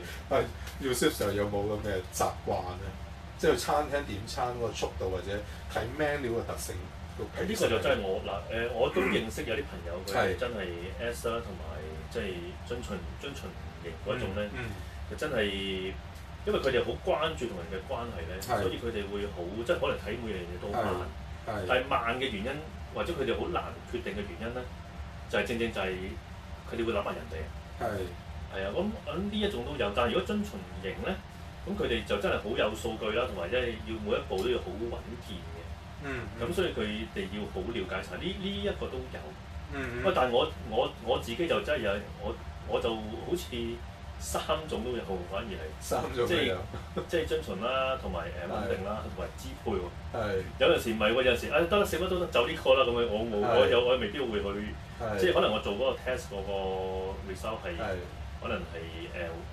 Yusuf 有冇咁嘅習慣咧，即係餐廳點餐嗰個速度或者睇 menu 嘅特性。 呢個就真係我都認識有啲朋友佢真係 S 啦，同埋即係遵循型嗰種咧，就真係因為佢哋好關注同人嘅關係咧，所以佢哋會好即係可能睇每樣嘢都慢，但係慢嘅原因或者佢哋好難決定嘅原因咧，就係正就係佢哋會諗埋人哋。係啊，咁呢一種都有，但係如果遵循型咧，咁佢哋就真係好有數據啦，同埋即係要每一步都要好穩健嘅。咁所以佢哋要好了解晒呢一個都有。喂，但係我自己就真係有我就好似3種都有，反而係 3種即係遵循啦，同埋穩定啦，同埋支配喎。有陣時唔係喎，有陣時得啦，食乜都得，就呢個啦咁樣。我未必會去，即係可能我做嗰個 test 嗰個 result 係可能係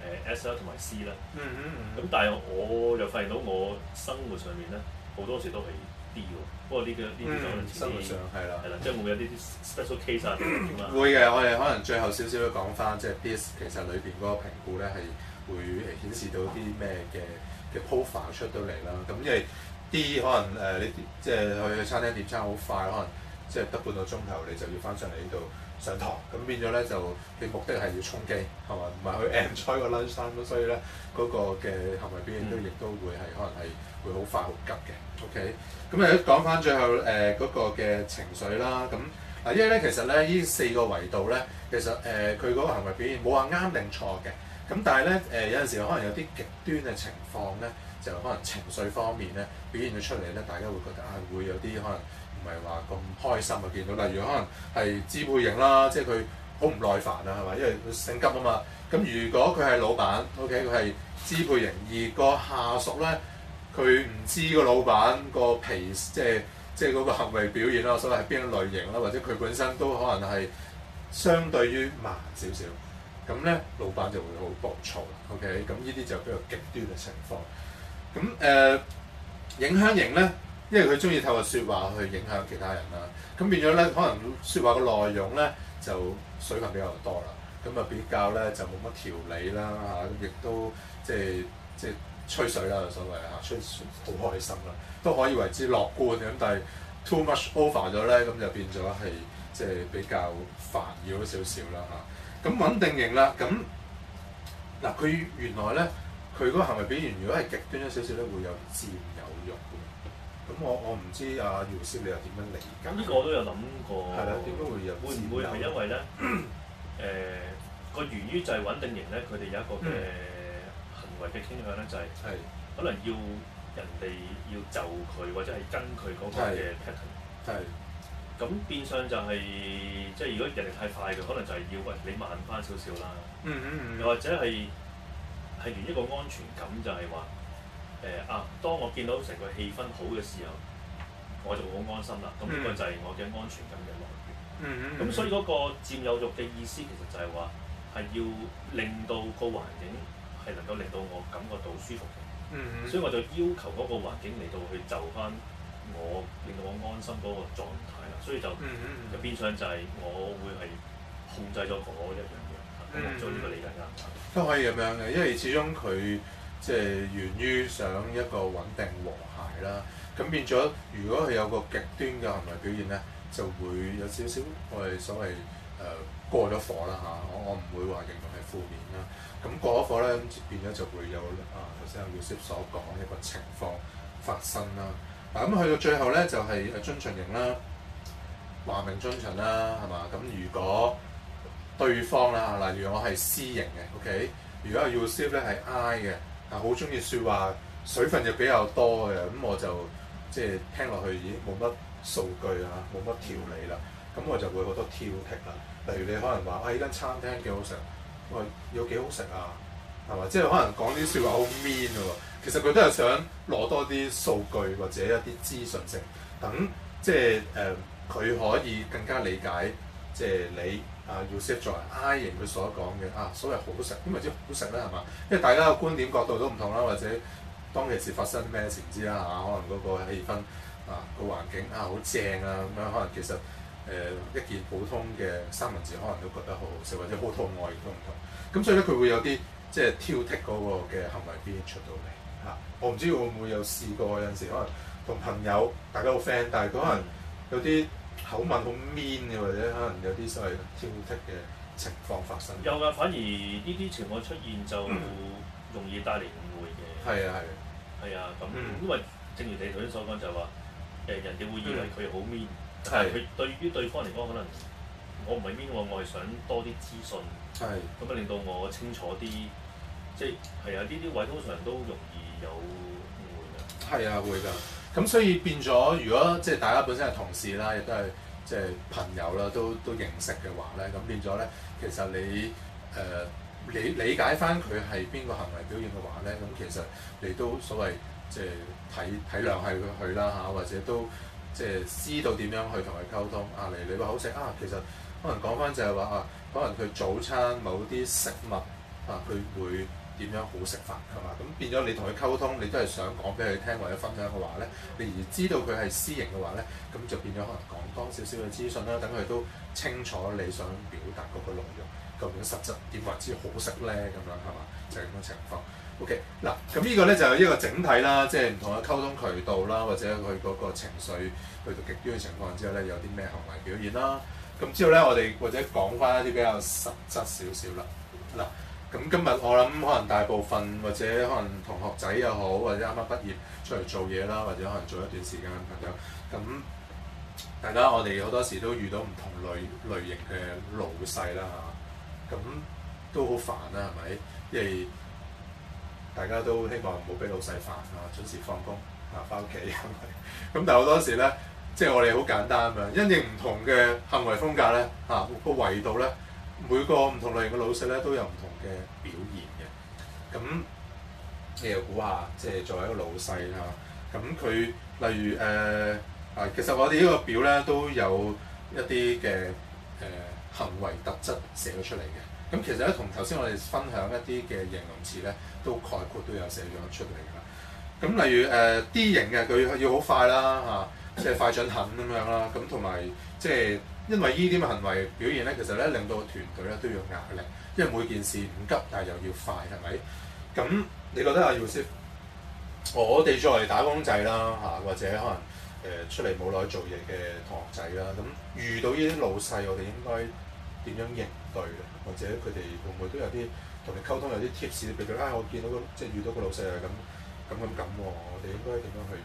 S 啦同埋 C 啦。咁但係我又發現到我生活上面咧好多時都係D 喎。不過呢啲就可能生活上係啦， 即係會唔會有啲 special case 啊？ 會嘅，我哋可能最後少少都講翻，即係 DISC 其實裏邊嗰個評估咧係會顯示到啲咩嘅 profile 出到嚟啦。咁因為 D 可能你即係去餐廳點餐好快，可能即係得半個鐘頭你就要翻上嚟呢度上堂，咁變咗咧就你目的係要充機係嘛，唔係去 enjoy 個 lunch time，咁所以咧嗰個嘅行為表現都亦都會係可能係會好快好急嘅。OK， 咁講翻最後嗰個嘅情緒啦，咁因為咧其實咧呢4個維度咧，其實佢嗰個行為表現冇話啱定錯嘅，咁但係咧有陣時可能有啲極端嘅情況咧，就可能情緒方面咧表現咗出嚟咧，大家會覺得會有啲可能唔係話咁開心啊，見到例如可能係支配型啦，即係佢好唔耐煩啊，係嘛？因為佢性急啊嘛，咁如果佢係老闆 ，OK 佢係支配型，而個下屬咧。佢唔知個老闆個脾即係嗰個行為表現啦，所謂係邊一類型啦，或者佢本身都可能係相對於慢少少，咁咧老闆就會好暴躁啦。OK，咁呢啲就比較極端嘅情況。咁影響型咧，因為佢中意透過説話去影響其他人啦，咁變咗咧可能説話嘅內容咧就水分比較多啦，咁比較咧就冇乜條理啦咁亦都即係。吹水啦，所謂吹好開心啦，都可以為之樂觀嘅。咁但係 too much over 咗咧，咁就變咗係即係比較煩擾少少啦咁穩定型啦，咁嗱佢原來咧佢嗰個行為表現，如果係極端咗少少咧，會有佔有慾嘅。 咁我唔知阿姚師你又點樣理解？ 咁呢個我都有諗過。 係啦，點解會有？ 會唔會係因為咧？個源於就係穩定型咧，佢哋有一個嘅行為嘅傾向咧，就係可能要人哋要就佢或者係跟佢嗰個嘅 pattern。 係。 咁變相就係即係如果人哋太快嘅，可能就係要喂你慢翻少少啦。又或者係源於一個安全感，就係話當我見到成個氣氛好嘅時候，我就好安心啦。咁呢個就係我嘅安全感嘅來源。咁所以嗰個佔有欲嘅意思，其實就係話係要令到個環境係能夠令到我感覺到舒服嘅。所以我就要求嗰個環境嚟到去就翻我，令到我安心嗰個狀態啦。所以就變相就係我會係控制咗嗰一樣嘢。咁我做呢個理解啱唔啱？ 都可以咁樣嘅，因為始終佢即係源於想一個穩定和諧啦。咁變咗，如果佢有個極端嘅行為表現咧，就會有少少我哋所謂過咗火啦嚇。我唔會話形容係負面啦。咁過咗火咧，咁變咗就會有頭先阿 Yusuf 所講一個情況發生啦。嗱咁去到最後咧，就係遵循型啦，話明遵循啦，係嘛？咁如果對方啦，例如我係 C 型嘅 ，OK。如果阿 Yusuf 咧係 I 嘅，好中意説話，水分又比較多嘅，咁我就即係聽落去已經冇乜數據啊，冇乜條理啦，咁我就會好多挑剔啦。例如你可能話呢間餐廳幾好食，喂有幾好食啊，係嘛？即係可能講啲説話好 mean 喎，其實佢都係想攞多啲數據或者一啲資訊性，等即係佢可以更加理解即係你。Yusuf 作為 I 型佢所講嘅所謂好食，點為之好食咧係嘛？因為大家嘅觀點角度都唔同啦，或者當其時發生咩事唔知啦嚇，可能嗰個氣氛個環境好正啊咁樣，可能其實一件普通嘅三文治可能都覺得好好食，或者好肚餓亦都唔同。咁所以咧佢會有啲即係挑剔嗰個嘅行為表現出到嚟嚇。我唔知會唔會有試過有陣時可能同朋友大家好 friend，但係佢可能有啲口吻好 mean 嘅，或者可能有啲所謂挑剔嘅情況發生。 有㗎，反而呢啲情況出現就容易帶嚟誤會嘅。 係啊， 咁因為正如你頭先所講，就係話人哋會以為佢好 mean，但係佢對於對方嚟講，可能我唔係 mean 喎，我係想多啲資訊。咁啊令到我清楚啲，即係呢啲位通常都容易有誤會㗎。 係啊，會㗎。咁所以變咗，如果即係大家本身係同事啦，亦都係即係朋友啦，都認識嘅話咧，咁變咗咧，其實你理解翻佢係邊個行為表現嘅話咧，咁其實你都所謂即係體諒係佢啦嚇，或者都即係知道點樣去同佢溝通你話好食其實可能講翻就係話可能佢早餐某啲食物佢會點樣好食法係嘛？咁變咗你同佢溝通，你都係想講俾佢聽或者分享嘅話咧，你而知道佢係 C 型嘅話咧，咁就變咗可能講多少少嘅資訊啦，等佢都清楚你想表達嗰個內容，究竟實質點為之好食咧咁樣係嘛？就係咁嘅情況。OK 嗱，咁呢個咧就係一個整體啦，即係唔同嘅溝通渠道啦，或者佢嗰個情緒去到極端嘅情況之後咧，有啲咩行為表現啦。咁之後咧，我哋或者講翻一啲比較實質少少啦。嗱。咁今日我諗可能大部分或者可能同學仔又好，或者啱啱畢業出嚟做嘢啦，或者可能做一段時間嘅朋友，咁大家我哋好多時都遇到唔同類型嘅老細啦嚇，咁都好煩啦係咪？因為大家都希望唔好俾老細煩準時放工翻屋企係咪？咁但係好多時咧，即係我哋好簡單啊，因應唔同嘅行為風格咧個維度咧，每個唔同類型嘅老細咧都有唔同嘅表現嘅。咁你又估下，即係作為一個老細咁佢例如其實我哋呢個表咧都有一啲嘅行為特質寫咗出嚟嘅。咁其實咧同頭先我哋分享一啲嘅形容詞咧，都概括都有寫咗出嚟㗎啦。咁例如D 型嘅佢要好快啦即係快準狠咁樣啦。咁同埋即係。因為呢啲嘅行為表現咧，其實咧令到個團隊咧都有壓力，因為每件事唔急，但係又要快，係咪？咁你覺得阿 Yusuf，我哋作為打工仔啦或者可能出嚟冇耐做嘢嘅同學仔啦，咁遇到呢啲老細，我哋應該點樣應對咧？或者佢哋會唔會都有啲同你溝通，有啲 tips 俾佢？我見到即係遇到個老細係咁，我哋應該點樣去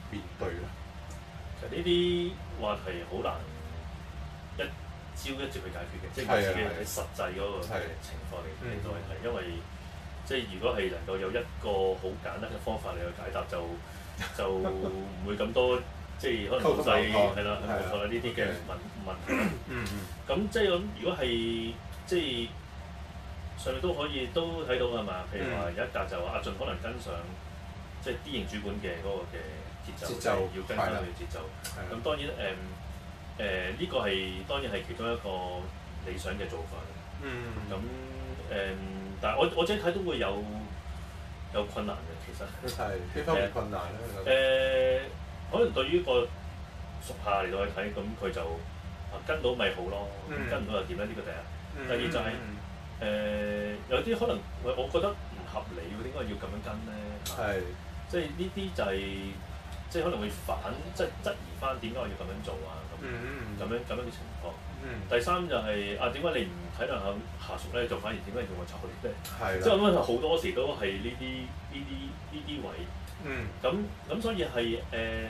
面對咧？ 其實呢啲話題好難一朝一夕去解決嘅，即係我自己喺實際嗰個情況嚟到去睇，因為即係如果係能夠有一個好簡單嘅方法嚟去解答，就唔會咁多即係可能老細係啦，冇錯啦呢啲嘅問題啦。咁即係咁，如果係即係上面都可以都睇到係嘛？譬如話有一格就話阿俊可能跟上即係 D 型主管嘅嗰個嘅節奏，要跟翻佢嘅節奏。咁當然呢個係當然係其中一個理想嘅做法。咁但係我自己睇都會有困難嘅，其實。 係邊方面困難咧？ 可能對於個屬下嚟到去睇，咁佢就跟到咪好咯，跟唔到又點咧？呢個第一。第二就係有啲可能我覺得唔合理喎，點解要咁樣跟咧？係。即係呢啲就係即係可能會即係質疑翻點解我要咁樣做啊？咁樣嘅情況。第三就係點解你唔體諒下屬咧？就反而點解要我炒你咧？係。即係我覺得好多時都係呢啲位。咁所以係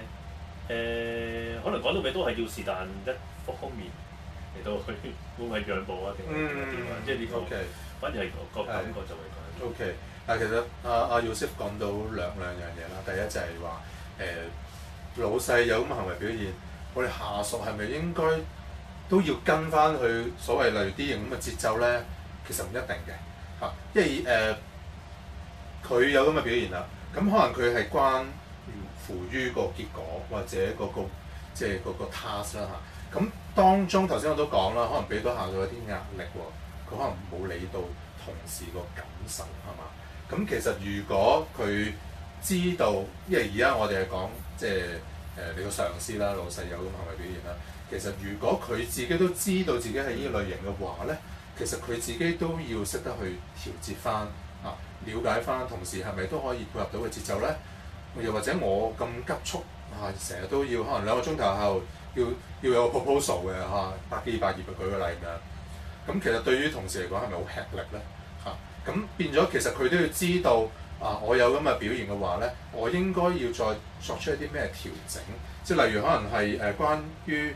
可能講到尾都係要是但一方面嚟到去會唔會讓步啊？定係點啊？即係呢個反而係個感覺就會講。 OK， 但係其實阿 Yusuf 講到兩樣嘢啦。第一就係話老細有咁嘅行為表現，我哋下屬係咪應該都要跟翻佢所謂例如 D 型咁嘅節奏咧？其實唔一定嘅嚇，因為佢有咁嘅表現啦。咁可能佢係關乎於個結果或者即係嗰個 task 啦嚇。咁當中頭先我都講啦，可能俾到下屬一啲壓力喎，佢可能冇理到同事個感受係嘛？咁其實如果佢知道，因為而家我哋係講即係你個上司啦、老細有咁行為表現啦。其實如果佢自己都知道自己係呢個類型嘅話咧，其實佢自己都要識得去調節翻。了解翻同事係咪都可以配合到嘅節奏咧？又或者我咁急促成日都要可能2個鐘頭後要有個 proposal 嘅100幾200頁嘅舉個例咁樣。咁其實對於同事嚟講係咪好吃力咧？咁變咗其實佢都要知道我有咁嘅表現嘅話咧，我應該要再作出一啲咩調整？即係例如可能係關於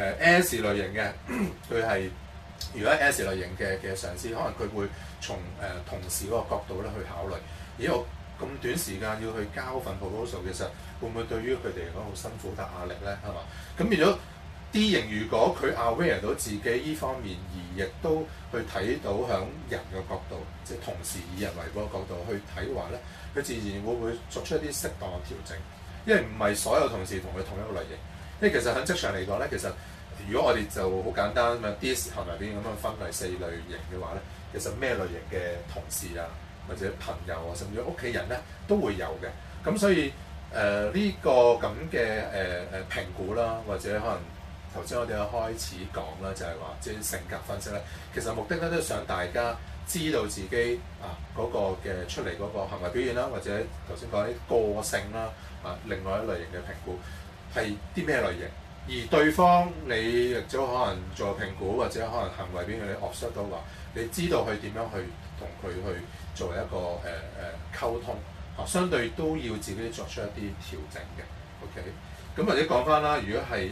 S 類型嘅，佢係如果 S 類型嘅上司，可能佢會從同事嗰個角度咧去考慮，我咁短時間要去交份 proposal， 其實會唔會對於佢哋嚟講好辛苦、大壓力咧？係嘛？咁變咗 D 型，如果佢 aware 到自己依方面，而亦都去睇到響人嘅角度，即係同事以人為本嘅角度去睇話咧，佢自然會作出一啲適當嘅調整，因為唔係所有同事同佢同一個類型。因為其實喺職場嚟講咧，其實如果我哋就好簡單咁樣 D 行為表現咁樣分為4類型嘅話咧，其實咩類型嘅同事啊，或者朋友啊，甚至屋企人咧都會有嘅。咁所以呢個咁嘅評估啦，或者可能頭先我哋一開始講啦，就係話即係性格分析咧，其實目的咧都係想大家知道自己嗰個嘅出嚟嗰個行為表現啦，或者頭先講啲個性啦另外一類型嘅評估係啲咩類型。而對方你亦都可能做評估，或者可能行為表現你 observe 到話，你知道佢點樣去同佢去作為一個溝通相對都要自己作出一啲調整嘅。OK， 咁或者講翻啦，如果係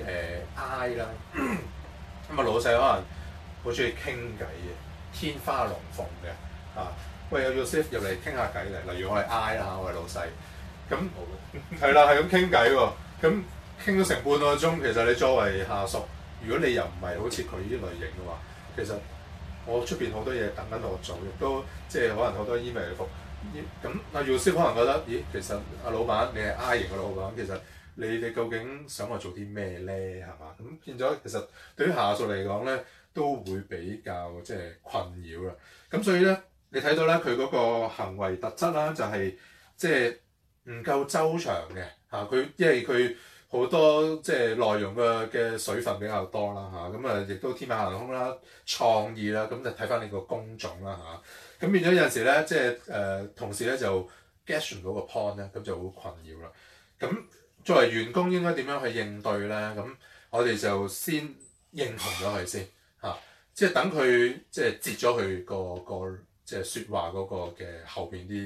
I 啦，咁老細可能好中意傾偈嘅，天花龍鳳嘅喂，有 Yusuf 入嚟傾下偈嚟，例如我係 I 啦我係老細，咁係啦，係咁傾偈喎，咁。傾咗成半個鐘，其實你作為下屬，如果你又唔係好似佢呢類型嘅話，其實我出邊好多嘢等緊我做，亦都即係可能好多 email 嚟覆。咁阿 Yusuf 可能覺得，咦，其實阿老闆你係 I 型嘅老闆，其實你究竟想我做啲咩咧？係嘛？咁變咗其實對於下屬嚟講咧，都會比較即係困擾啦。咁所以咧，你睇到咧佢嗰個行為特質啦，就係即係唔夠周詳嘅佢因為佢。好多即係內容嘅水分比較多啦咁亦都天馬行空啦、創意啦，咁就睇翻你個工種啦咁變咗有陣時咧，即係同事咧就 get 唔到個 point 咧，咁就好困擾啦。咁作為員工應該點樣去應對咧？咁我哋就先認同咗佢先即係等佢即係截咗佢個即係説話嗰個嘅後邊啲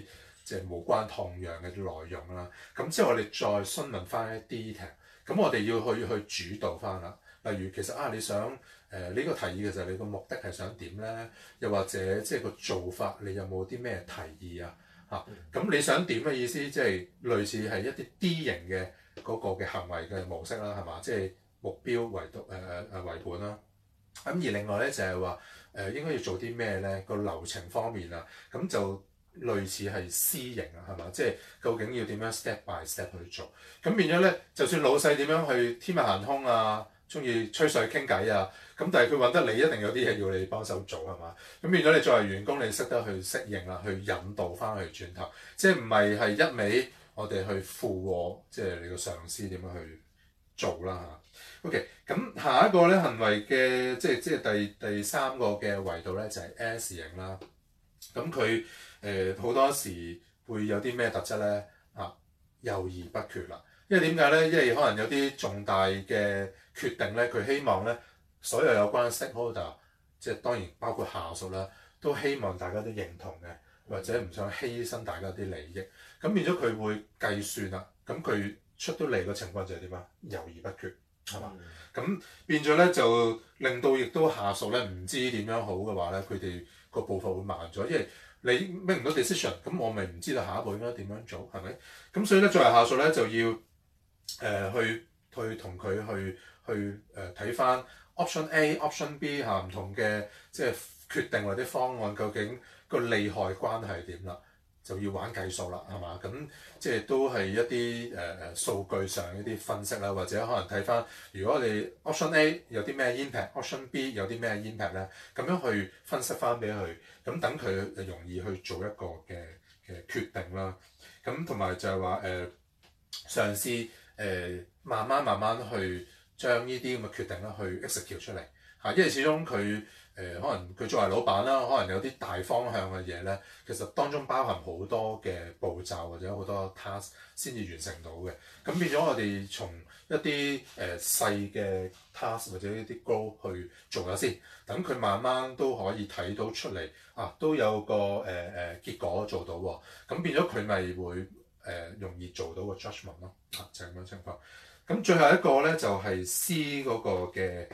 即係無關痛癢嘅內容啦。咁之後我哋再詢問翻一啲 detail，咁我哋要去主導翻啦。例如其實你想呢個提議嘅就係你個目的係想點咧？又或者即係個做法，你有冇啲咩提議啊？咁你想點嘅意思，即係類似係一啲 D 型嘅嗰個嘅行為嘅模式啦，係嘛？即係目標為本啦。咁而另外咧就係話應該要做啲咩咧？個流程方面啊，咁就類似係 C 型啊，係嘛？即係究竟要點樣 step by step 去做？咁變咗咧，就算老細點樣去天馬行空啊，中意吹水傾偈啊，咁但係佢揾得你，一定有啲嘢要你幫手做係嘛？咁變咗你作為員工，你識得去適應啦，去引導翻去轉頭，即係唔係一味我哋去附和，即係你個上司點樣去做啦嚇。OK， 咁下一個咧行為嘅即係第三個嘅維度咧就係 S 型啦。咁佢好多時會有啲咩特質咧？猶豫不決啦。因為點解咧？因為可能有啲重大嘅決定咧，佢希望咧所有有關 stakeholder， 即係當然包括下屬啦，都希望大家都認同嘅，或者唔想犧牲大家啲利益。咁變咗佢會計算啦。咁佢出到嚟嘅情況就係點啊？猶豫不決。係嘛？咁變咗咧，就令到亦都下屬咧唔知點樣好嘅話咧，佢哋個步伐會慢咗，因為你 make 唔到 decision，咁我咪唔知道下一步應該點樣做，係咪？咁所以咧，作為下屬咧就要去同佢去睇翻 option A、option B 唔同嘅即係決定或者方案，究竟個利害關係點啦？就要玩計數啦，係嘛？咁即係都係一啲數據上一啲分析啦，或者可能睇翻，如果我哋 option A 有啲咩 impact，option B 有啲咩 impact 咧，咁樣去分析翻俾佢，咁等佢容易去做一個嘅決定啦。咁同埋就係話嘗試慢慢去將呢啲咁嘅決定啦去 execute 出嚟嚇，因為始終佢。可能佢作為老闆啦，可能有啲大方向嘅嘢咧，其實當中包含好多嘅步驟或者好多 task 先至完成到嘅。咁變咗我哋從一啲細嘅 task 或者一啲 goal 去做咗先，等佢慢慢都可以睇到出嚟都有個結果做到喎。咁變咗佢咪會容易做到個 judgment 咯。就係咁樣情況。咁最後一個咧就係 C 嗰個嘅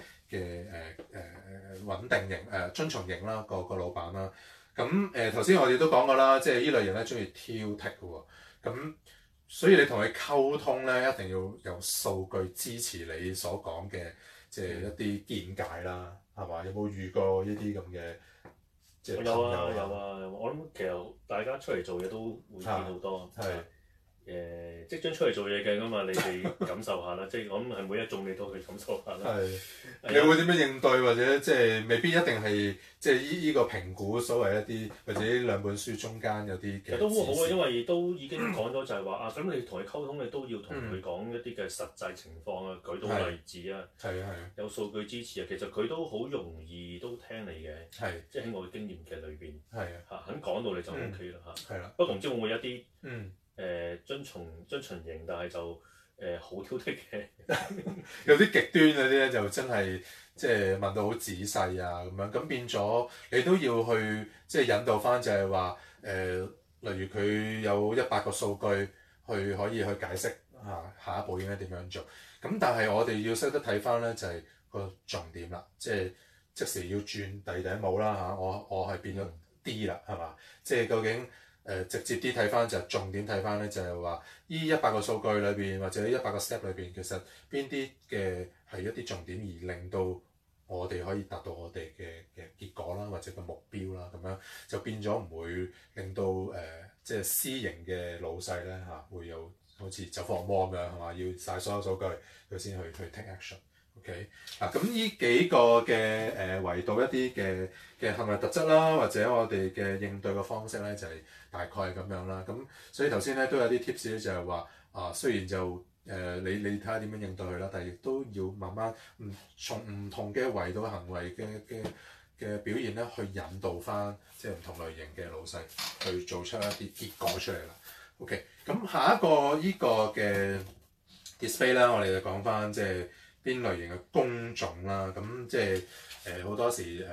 穩定型遵從型啦，個老闆啦。咁頭先我哋都講過啦，即係呢類型咧中意挑剔嘅喎。咁所以你同佢溝通咧，一定要有數據支持你所講嘅，即係一啲見解啦，係嘛？有冇遇過呢啲咁嘅即係朋友啊？ 有啊，我諗其實大家出嚟做嘢都會見好多。即將出嚟做嘢嘅㗎嘛，你哋感受下啦。即係我諗係每一種你都去感受下啦。 你會點樣應對，或者即係未必一定係即係依個評估所謂一啲，或者呢兩本書中間有啲嘅。 其實都好啊，因為都已經講咗就係話咁你同佢溝通，你都要同佢講一啲嘅實際情況啊，舉到例子啊，有數據支持啊，其實佢都好容易都聽你嘅。即係喺我嘅經驗嘅裏邊。肯講到你就 OK 啦嚇。不過唔知會唔會一啲遵從型，但係就好挑剔嘅， 有啲極端嗰啲咧就真係即係問到好仔細啊咁樣，咁變咗你都要去即係引導翻，就係話例如佢有100個數據去可以去解釋下一步應該點樣做，咁但係我哋要識得睇翻咧就係個重點啦，即係即時要轉第二頂帽啦嚇，我係變咗 D 啦係嘛，即係究竟。直接啲睇翻就係重點睇翻咧，就係話依100個數據裏邊或者100個 step 裏邊，其實邊啲嘅係一啲重點而令到我哋可以達到我哋嘅結果啦，或者個目標啦，咁樣就變咗唔會令到即係 C 型嘅老細咧會有好似走火入魔咁樣係嘛，要晒所有數據佢先去 take action。OK 咁呢幾個嘅維度一啲嘅行為特質啦，或者我哋嘅應對嘅方式咧，就係大概係咁樣啦。咁所以頭先咧都有啲 tips 咧，就係話雖然就你睇下點樣應對佢啦，但係亦都要慢慢從唔同嘅維度行為嘅表現咧，去引導翻即係唔同類型嘅老細去做出一啲結果出嚟啦。OK，咁下一個依個嘅 display 啦，我哋就講翻即係邊類型嘅工種啦，咁即係好多時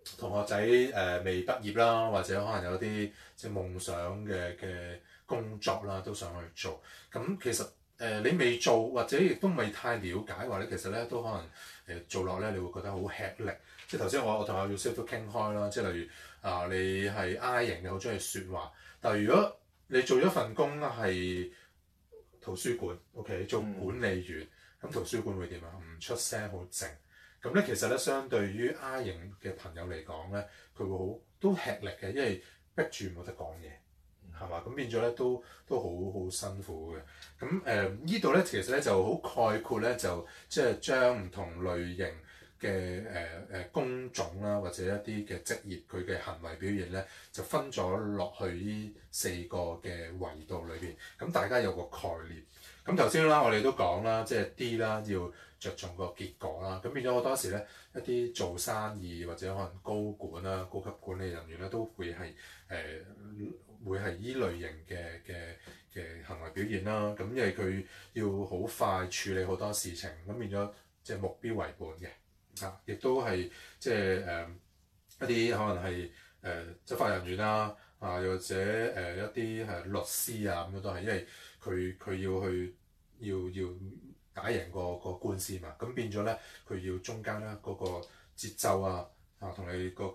同學仔未畢業啦，或者可能有啲即係夢想嘅工作啦，都想去做。咁其實你未做或者亦都未太了解，或者其實咧都可能做落咧，你會覺得好吃力。即係頭先我同阿 Yusuf 都傾開啦，即係例如你係 I 型嘅，好中意説話，但係如果你做咗份工係圖書館 ，OK 做管理員，咁圖書館會點啊？唔出聲，好靜。咁咧其實咧，相對於 I 型嘅朋友嚟講咧，佢會好都吃力嘅，因為逼住冇得講嘢，係嘛？咁變咗咧都好辛苦嘅。咁呢度咧其實咧就好概括咧，就即係將唔同類型嘅工種啦，或者一啲嘅職業佢嘅行為表現咧，就分咗落去呢4個嘅維度裏邊。咁大家有個概念。咁頭先啦，我哋都講啦，即係 D 啦，要着重個結果啦。咁變咗好多時咧，一啲做生意或者可能高管啦、高級管理人員咧，都會係會係依類型嘅行為表現啦。咁因為佢要好快處理好多事情，咁變咗即係目標為本嘅。亦都係即係一啲可能係執法人員啦，又或者一啲係律師啊咁樣都係，因為佢要打贏個官司嘛，咁變咗咧佢要中間咧嗰個節奏同你個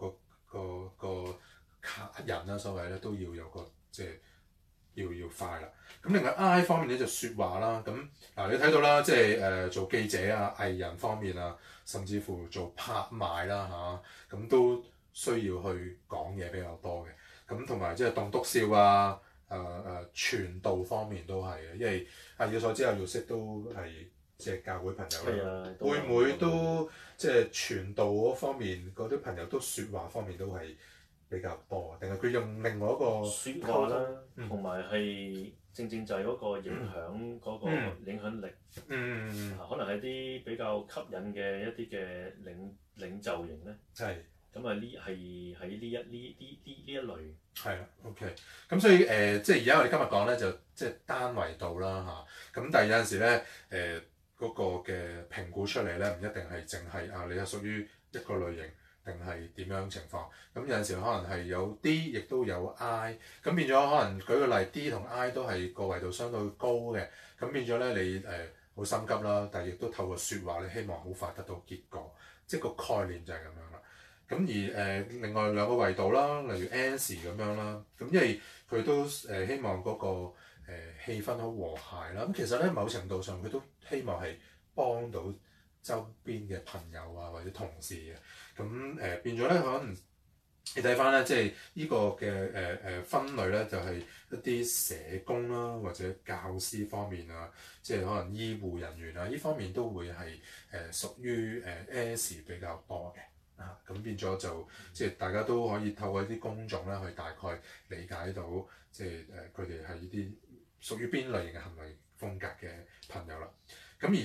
客人啦，所謂咧都要有個即係要快啦。咁另外 I 方面咧就説話啦，咁你睇到啦，即係做記者藝人方面甚至乎做拍賣啦咁都需要去講嘢比較多嘅。咁同埋即係棟篤笑傳道方面都係嘅，因為以我所知Yusuf都係即係教會朋友啦，會唔會都即係傳道嗰方面嗰啲朋友都説話方面都係比較多，定係佢用另外一個説話啦，同埋係正就係嗰個影響嗰個影響力，可能係啲比較吸引嘅一啲嘅領袖型咧。係。咁呢係喺呢一類。 係啦 ，OK。咁所以即係而家我哋今日講咧就即係單維度啦咁但係有陣時咧嗰個嘅評估出嚟咧唔一定係淨係你係屬於一個類型定係點樣情況。咁有陣時可能係有 D 亦都有 I。咁變咗可能舉個例 D 同 I 都係個維度相對高嘅。咁變咗咧你好心急啦，但係亦都透過説話你希望好快得到結果，即係個概念就係咁樣啦。咁而另外2個維度啦，例如 S 咁樣啦，咁因為佢都希望嗰個氣氛好和諧啦。咁其實咧某程度上佢都希望係幫到周邊嘅朋友或者同事嘅。咁變咗咧可能你睇翻咧，即係呢個嘅分類咧，就係一啲社工啦或者教師方面即係可能醫護人員呢方面都會係屬於S 比較多嘅。咁變咗就即係大家都可以透過一啲工種啦，去大概理解到即係佢哋係呢啲屬於邊類型嘅行為風格嘅朋友啦。咁而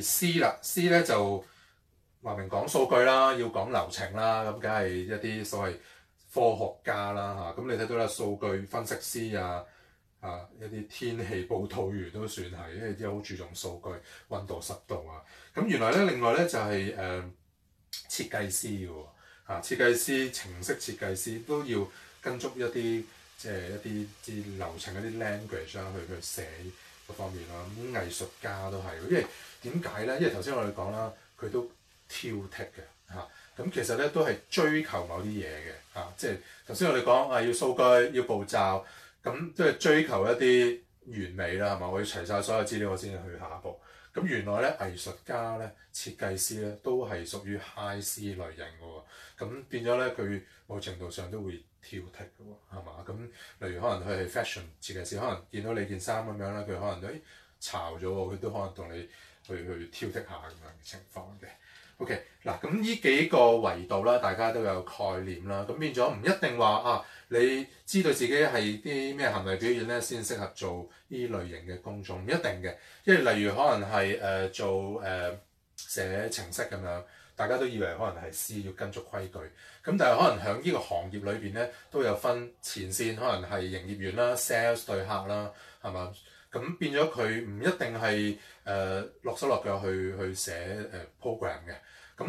C 咧就話明講數據啦，要講流程啦，咁梗係一啲所謂科學家啦咁你睇到啦，數據分析師一啲天氣報導員都算係，因為啲好注重數據、溫度、濕度咁原來咧，另外咧就係設計師嘅喎。設計師、程式設計師都要跟足一啲即係一啲流程、一啲 language 去寫嗰方面啦。咁藝術家都係，因為點解咧？因為頭先我哋講啦，佢都挑剔嘅咁其實咧都係追求某啲嘢嘅即係頭先我哋講要數據、要步驟，咁都係追求一啲完美啦，係嘛？我要齊晒所有資料，我先至去下一步。咁原來咧藝術家咧、設計師咧都係屬於 High C 類型嘅喎。咁變咗咧，佢某程度上都會挑剔嘅喎，係嘛？咁例如可能佢係 fashion 設計師，可能見到你件衫咁樣咧，佢可能都巢咗喎，佢都可能同你去挑剔下咁樣嘅情況嘅。OK， 嗱咁呢幾個維度啦，大家都有概念啦。咁變咗唔一定話你知道自己係啲咩行為表現咧，先適合做呢類型嘅工種，唔一定嘅。因為例如可能係做寫程式咁樣。大家都以為可能係 C 要跟足規矩，咁但係可能喺呢個行業裏邊咧都有分前線，可能係營業員啦、sales 對客啦，係嘛？咁變咗佢唔一定係落手落腳去寫program 嘅。咁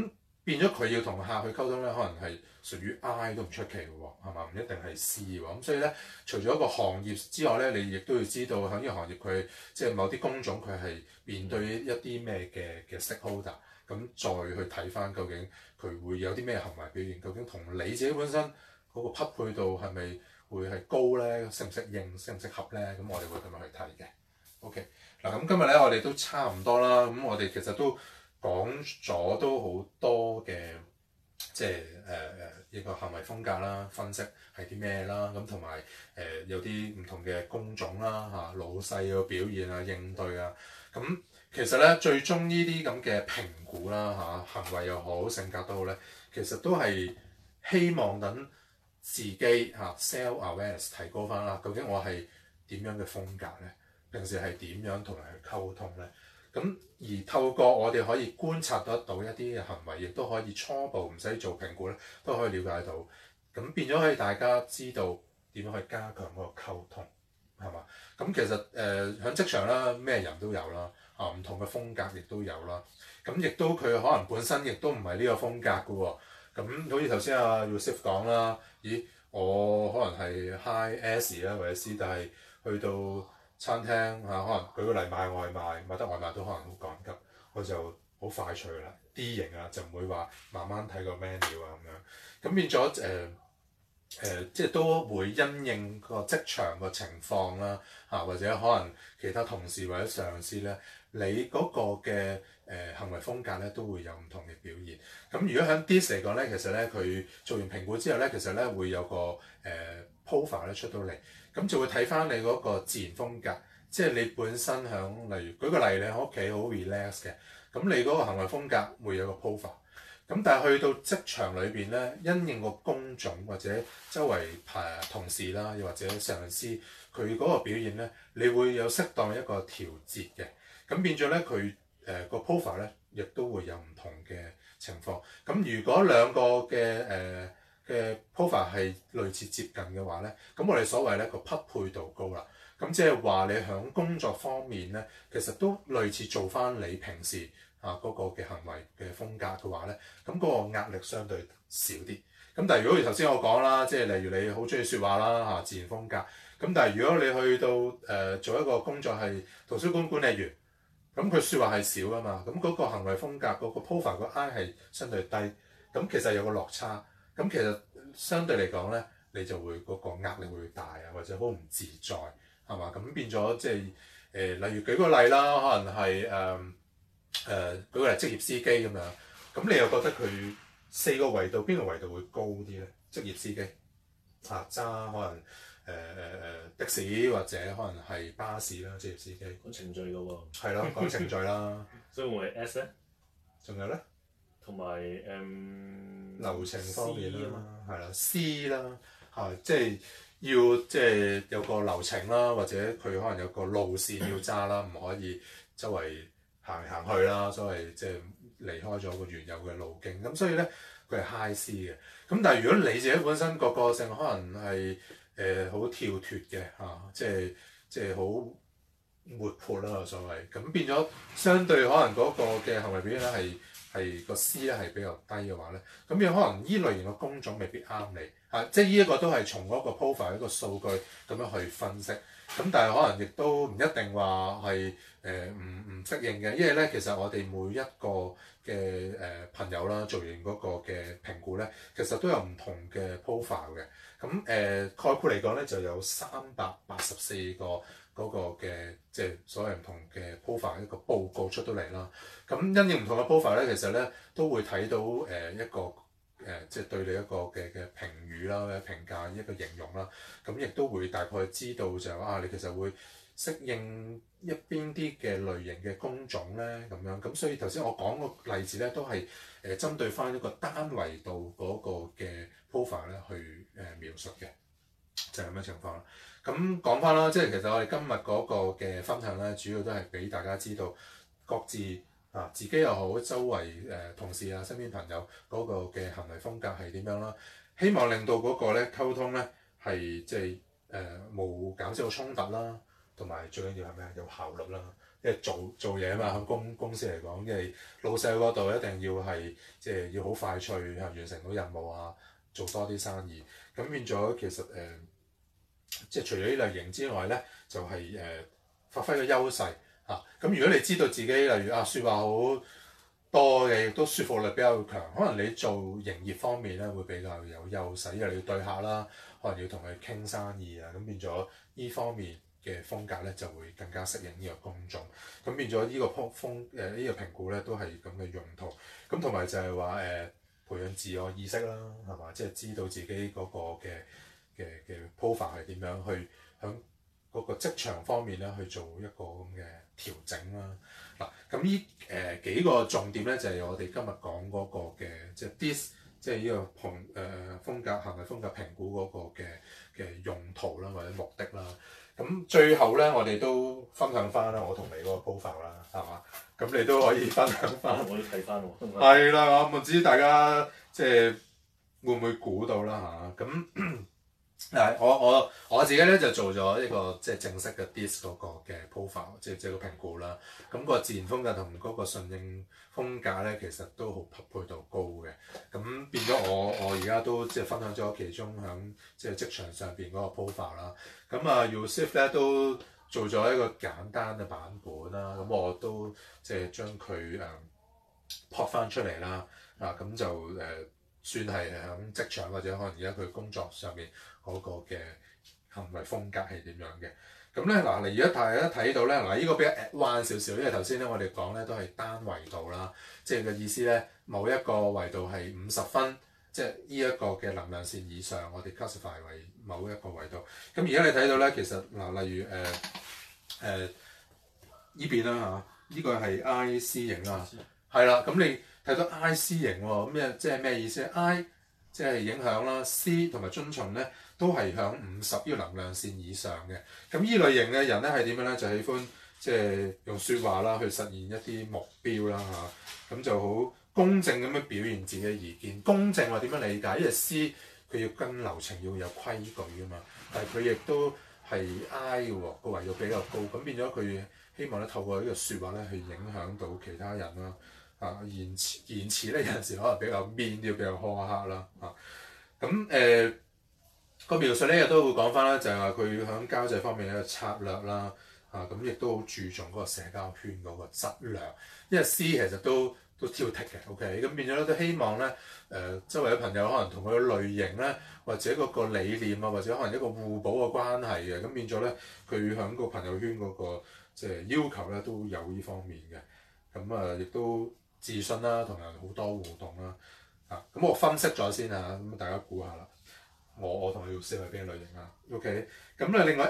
變咗佢要同客去溝通咧，可能係屬於 I 都唔出奇嘅喎，係嘛？唔一定係 C 喎。咁所以咧，除咗一個行業之外咧，你亦都要知道喺呢個行業佢即係某啲工種佢係面對一啲咩嘅 stakeholder，咁再去睇翻究竟佢會有啲咩行為表現，究竟同你自己本身嗰個匹配度係咪會係高咧？適唔適應、適唔適合咧？咁我哋會咁樣去睇嘅。OK，嗱咁今日咧我哋都差唔多啦，咁我哋其實都講咗都好多嘅，即係一個行為風格啦，分析係啲咩啦，咁同埋有啲唔同嘅工種啦嚇，老細嘅表現啊、應對啊，咁其實咧最終呢啲咁嘅評估啦嚇，行為又好、性格都好咧，其實都係希望等自己嚇 self awareness 提高翻啦。究竟我係點樣嘅風格咧？平時係點樣同人去溝通咧？咁而透過我哋可以觀察得到一啲嘅行為，亦都可以初步唔使做評估咧，都可以了解到。咁變咗可以大家知道點樣去加強嗰個溝通，係嘛？咁其實喺職場啦，咩人都有啦，啊唔同嘅風格亦都有啦。咁亦都佢可能本身亦都唔係呢個風格嘅喎。咁好似頭先阿 Yusuf 講啦，咦我可能係 High S 啦或者 C，但係去到餐廳嚇，可能舉個例買外賣，買得外賣都可能好趕急，我就好快脆啦 D 型啊，就唔會話慢慢睇個 menu 啊咁樣。咁變咗即係都會因應個職場個情況啦嚇，或者可能其他同事或者上司咧，你嗰個嘅行為風格咧都會有唔同嘅表現。咁如果喺 DISC 嚟講咧，其實咧佢做完評估之後咧，其實咧會有個profile 咧出到嚟。咁就會睇翻你嗰個自然風格，即係你本身響，例如舉個例，你喺屋企好 relax 嘅，咁你嗰個行為風格會有個 profile。咁但係去到職場裏邊咧，因應個工種或者周圍同事啦，又或者上司佢嗰個表現咧，你會有適當一個調節嘅。咁變咗咧，佢個 profile 咧，亦都會有唔同嘅情況。咁如果兩個嘅 profile 係類似接近嘅話咧，咁我哋所謂咧個匹配度高啦。咁即係話你喺工作方面咧，其實都類似做翻你平時嗰個嘅行為嘅風格嘅話咧，咁嗰個壓力相對少啲。咁但係如果頭先我講啦，即係例如你好中意説話啦嚇，自然風格。咁但係如果你去到做一個工作係圖書館管理員，咁佢説話係少噶嘛，咁嗰個行為風格嗰個 profile 個 I 係相對低，咁其實有個落差。咁其實相對嚟講咧，你就會嗰個壓力會大啊，或者好唔自在，係嘛？咁變咗即係例如舉個例啦，可能係舉個例職業司機咁樣，咁你又覺得佢4個維度邊個維度會高啲咧？職業司機揸可能的士或者可能係巴士啦，職業司機講程序嘅喎。 係咯，講程序啦。 所以會係 S 咧？ 仲有咧？同埋流程方面啦，係啦 C 啦，即係要即係有個流程啦，或者佢可能有個路線要揸啦，唔可以周圍行嚟行去啦，所謂即係離開咗個原有嘅路徑。咁所以咧，佢係 High C 嘅。咁但係如果你自己本身個性可能係好跳脫嘅即係好活潑啦，所謂咁變咗，相對可能嗰個嘅行為表現咧係個 C 咧係比較低嘅話咧，咁有可能依類型嘅工種未必啱你即係呢一個都係從嗰個 profile 一個數據咁樣去分析。咁但係可能亦都唔一定話係唔適應嘅，因為咧其實我哋每一個嘅朋友啦，做完嗰個嘅評估咧，其實都有唔同嘅 profile 嘅。咁概括嚟講咧，就有384個嗰個嘅即係所謂唔同嘅 profile 一個報告出到嚟啦。咁因應唔同嘅 profile 咧，其實咧都會睇到一個即係對你一個嘅評語啦，或者評價一個形容啦。咁亦都會大概知道就係你其實會適應一邊啲嘅類型嘅工種咧咁樣。咁所以頭先我講個例子咧，都係針對翻一個單維度嗰個嘅 profile 咧去描述嘅，就係咁嘅情況啦。咁講翻啦，即係其實我哋今日嗰個嘅分享咧，主要都係俾大家知道各自自己又好，周圍同事啊、身邊朋友嗰個嘅行為風格係點樣啦。希望令到嗰個咧溝通咧係即係冇減少衝突啦，同埋最緊要係咩啊？有效率啦。 因為做嘢啊嘛，喺公司嚟講，因為老細嗰度一定要係即係要好快脆完成到任務啊，做多啲生意。咁變咗其實即係除咗呢類型之外咧，就係發揮個優勢嚇。咁如果你知道自己例如説話好多嘅，亦都說服力比較強，可能你做營業方面咧會比較有優勢，因為你要對客啦，可能要同佢傾生意啊，咁變咗呢方面嘅風格咧就會更加適應呢個工種。咁變咗呢個呢個評估咧都係咁嘅用途。咁同埋就係話培養自我意識啦，係嘛？即係知道自己嗰個嘅 profile 係點樣去響嗰個職場方面咧去做一個咁嘅調整啦。嗱，咁呢幾個重點咧就係我哋今日講嗰個嘅即係 DISC，即係呢個風格行為風格評估嗰個嘅用途啦或者目的啦。咁最後咧我哋都分享翻啦，我同你嗰個 profile 啦，係嘛？咁你都可以分享翻。 我都睇翻喎。 係啦，我唔知大家即係會唔會估到啦嚇？咁我自己咧就做咗一個即係正式嘅 DISC 嗰個嘅 profile，即係個評估啦。咁個自然風格同嗰個順應風格咧，其實都好匹配度高嘅。咁變咗我而家都即係分享咗其中響即係職場上邊嗰個 profile 啦。咁Yusuf 咧都做咗一個簡單嘅版本啦。咁我都即係將佢撲翻出嚟啦。咁就算係喺職場或者可能而家佢工作上面嗰個嘅行為風格係點樣嘅。咁咧嗱，你而家大家睇到咧嗱，呢個比較 advanced 少少，因為頭先咧我哋講咧都係單維度啦，即係嘅意思咧，某一個維度係50分，即係呢一個嘅能量線以上，我哋 classify 為某一個維度。咁而家你睇到咧，其實嗱，例如依邊啦嚇，呢個係 I C 型啦，係啦，咁你睇到 I C 型喎，咁即係咩意思咧 ？I 即係影響啦 ，C 同埋遵從咧都係響50呢個能量線以上嘅。咁依類型嘅人咧係點樣咧？就喜歡即係用説話啦去實現一啲目標啦嚇，咁就好公正咁樣表現自己嘅意見。公正我點樣理解？因為 C 佢要跟流程要有規矩㗎嘛，但係佢亦都係 I 嘅喎，個維度比較高，咁變咗佢希望咧透過呢個説話咧去影響到其他人啦。言辭咧有陣時可能比較 mean 啲，比較苛刻啦咁個描述咧亦都會講翻啦，就係話佢喺交際方面嘅策略啦咁亦都好注重嗰個社交圈嗰個質量，因為 C 其實都挑剔嘅 ，OK 咁變咗咧都希望咧周圍嘅朋友可能同佢嘅類型咧或者嗰個理念啊或者可能一個互補嘅關係嘅，咁變咗咧佢喺個朋友圈嗰個即係要求咧都有呢方面嘅，咁亦都自信啦，同人好多互動啦，咁我分析咗先啊，咁大家估下啦，我同你要識係邊個類型啊 ？OK， 咁咧另外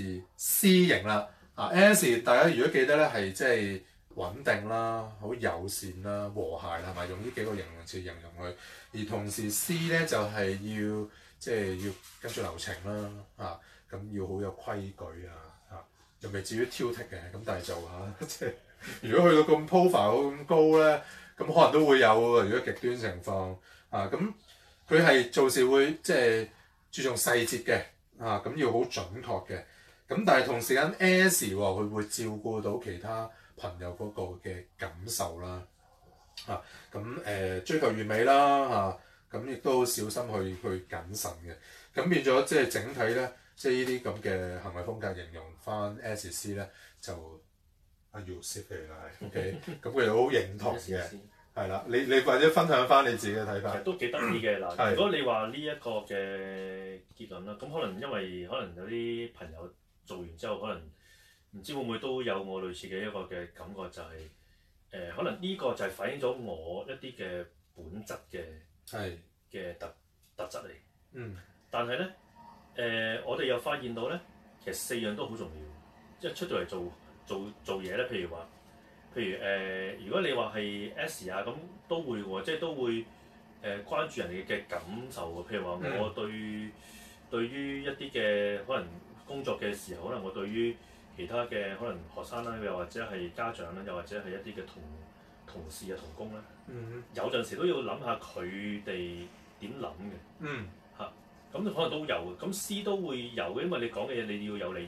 S、C 型啦，S 大家如果記得咧係即係穩定啦、好友善啦、和諧啦，係咪用呢幾個形容詞形容佢？而同時 C 咧就係要即係要跟住流程啦，咁要好有規矩又未至於挑剔嘅，咁但係就即係。如果去到咁 profile 咁高咧，咁可能都會有喎。如果極端情況咁佢係做事會即係注重細節嘅咁要好準確嘅。咁但係同時間 S 喎，佢會照顧到其他朋友嗰個嘅感受啦咁追求完美啦咁亦都小心去謹慎嘅。咁變咗即係整體咧，即係呢啲咁嘅行為風格形容翻 S、C 咧就。Yusuf 嚟啦，係 OK，咁佢哋好認同嘅，係啦，你或者分享翻你自己嘅睇法。 其實都幾得意嘅嗱，如果你話呢一個嘅結論啦，咁可能因為可能有啲朋友做完之後，可能唔知會唔會都有我類似嘅一個嘅感覺，就係可能呢個就係反映咗我一啲嘅本質嘅特質嚟。但係咧我哋又發現到咧，其實4樣都好重要，即係出到嚟做嘢咧，譬如如果你話係 S 咁都會喎，即係都會關注人哋嘅感受喎。譬如話我對於一啲嘅可能工作嘅時候，可能我對於其他嘅可能學生啦，又或者係家長啦，又或者係一啲嘅同事啊、同工啦，有陣時都要諗下佢哋點諗嘅。咁可能都有嘅，咁 C 都會有嘅，因為你講嘅嘢你要有理由啊嘛。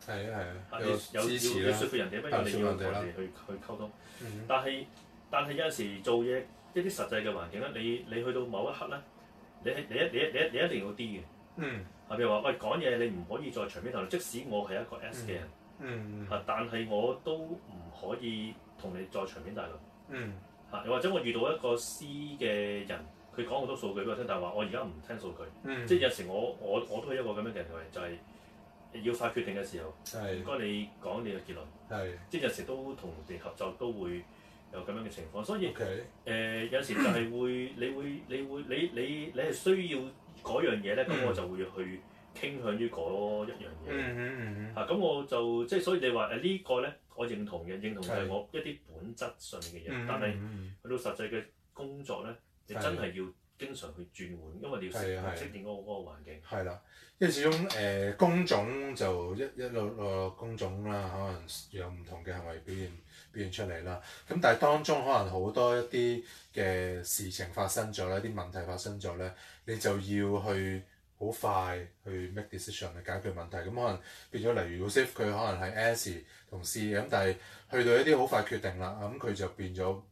係啊， 要説服人哋，不如你要同人哋去溝通。但係有陣時做嘢一啲實際嘅環境咧，你去到某一刻咧，你一定要 D 嘅。譬如話喂，講嘢你唔可以再場面頭，即使我係一個 S 嘅人，但係我都唔可以同你再場面大論。又或者我遇到一個 C 嘅人，佢講好多數據俾我聽，但係話我而家唔聽數據。即係有時我都係一個咁樣嘅人，就係要快決定嘅時候，唔該你講你嘅結論。即係有時都同人哋合作都會有咁樣嘅情況，所以有時就係你係需要嗰樣嘢咧，咁我就會去傾向於嗰一樣嘢。咁我就即係所以你話呢個咧，我認同就係我一啲本質上面嘅嘢，但係去到實際嘅工作咧，你真係要經常去轉換，因為你要適應嗰個環境。 係啦，因為始終工種就一個工種啦，可能有唔同嘅行為表現出嚟啦。咁但係當中可能好多一啲嘅事情發生咗咧，啲問題發生咗咧，你就要去好快去 make decision 去解決問題。咁可能變咗，例如 Joseph 佢可能係 S 同 C 咁，但係去到一啲好快決定啦，咁佢就變咗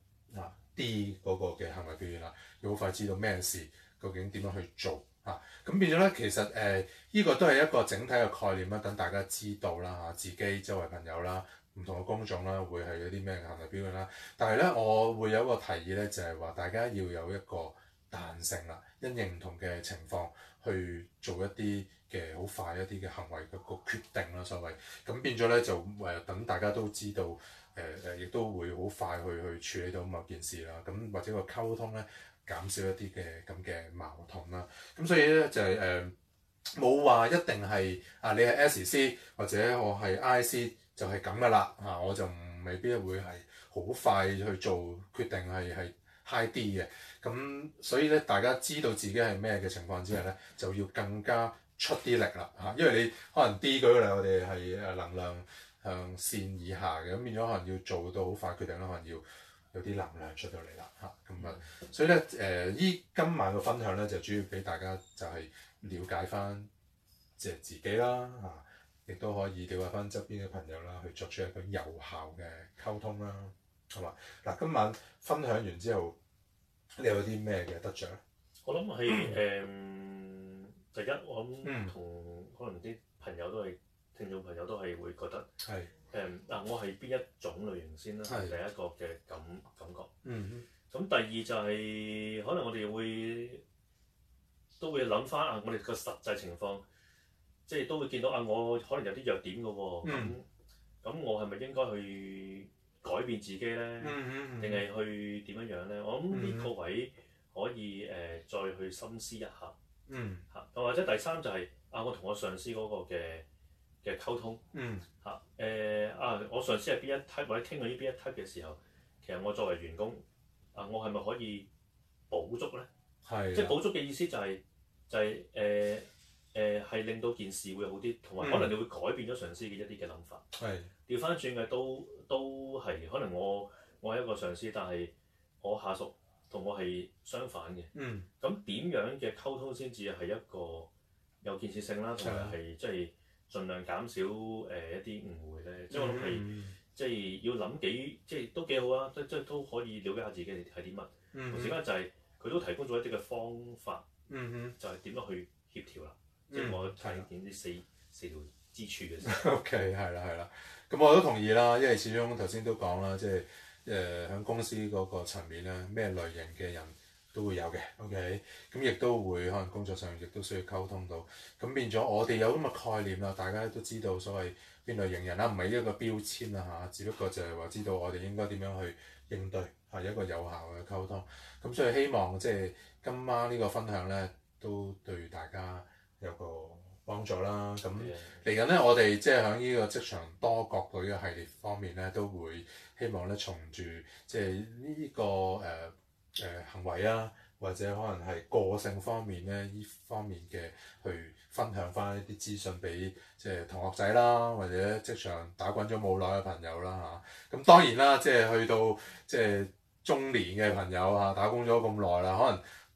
D 嗰個嘅行為表現啦，要好快知道咩事，究竟點樣去做嚇。咁變咗咧，其實呢個都係一個整體嘅概念啦，等大家知道啦自己周圍朋友啦，唔同嘅工種啦，會係有啲咩行為表現啦。但係咧，我會有一個提議咧，就係話大家要有一個彈性啦，因應唔同嘅情況去做一啲嘅好快一啲嘅行為嘅個決定啦，所謂。咁變咗咧就等大家都知道。亦都會好快去處理到某件事啦，咁或者個溝通咧減少一啲嘅咁嘅矛盾啦，咁所以咧就係冇話一定係你係 SC 或者我係 IC 就係咁噶啦我就未必會係好快去做決定係 high D 嘅，咁所以咧大家知道自己係咩嘅情況之下咧，就要更加出啲力啦因為你可能 D 舉個例，我哋係能量向線以下嘅，咁變咗可能要做到好快決定啦，可能要有啲能量出到嚟啦所以咧今晚嘅分享咧就主要俾大家就係了解翻即係自己啦亦都可以了解翻側邊嘅朋友啦，去作出一個有效嘅溝通啦，係嘛？嗱，今晚分享完之後，你有啲咩嘅得着咧？ 我諗係第一，我諗同可能啲朋友都係。聽眾朋友都係會覺得我係邊一種類型先啦，第一個嘅感覺。咁第二就係可能我哋都會諗翻我哋個實際情況，即係都會見到我可能有啲弱點嘅喎。咁我係咪應該去改變自己咧？定係去點樣咧？我諗呢個位可以再去深思一下。或者第三就係我同我上司嗰個嘅溝通我上司係邊一 type 或者傾到呢邊一 type 嘅時候，其實我作為員工我係咪可以補足咧？即係補足嘅意思就係令到件事會好啲，同埋可能你會改變咗上司嘅一啲嘅諗法。調翻轉嘅都係可能我係一個上司，但係我下屬同我係相反嘅。咁點樣嘅溝通先至係一個有建設性啦，同埋係即係。盡量減少一啲誤會咧，即係我諗係即係要諗即係都幾好啊！即係都可以了解下自己係啲乜。同時間就係佢都提供咗一啲嘅方法，就係點樣去協調啦。即係我睇見啲四條支柱嘅時候。 OK， 係啦。咁我都同意啦，因為始終頭先都講啦，即係喺公司嗰個層面咧，咩類型嘅人都會有嘅 ，OK， 咁亦都會可能工作上亦都需要溝通到，咁變咗我哋有咁嘅概念啦，大家都知道所謂邊類型人啦，唔係一個標籤啦只不過就係話知道我哋應該點樣去應對一個有效嘅溝通，咁所以希望即係今晚呢個分享咧都對大家有個幫助啦，咁嚟緊咧我哋即係喺呢個職場多角隊嘅系列方面咧，都會希望咧從住即係呢個行為或者可能係個性方面咧，呢方面嘅去分享翻一啲資訊俾即係同學仔啦，或者職場打滾咗冇耐嘅朋友啦咁當然啦，即係去到即係中年嘅朋友打工咗咁耐啦，可能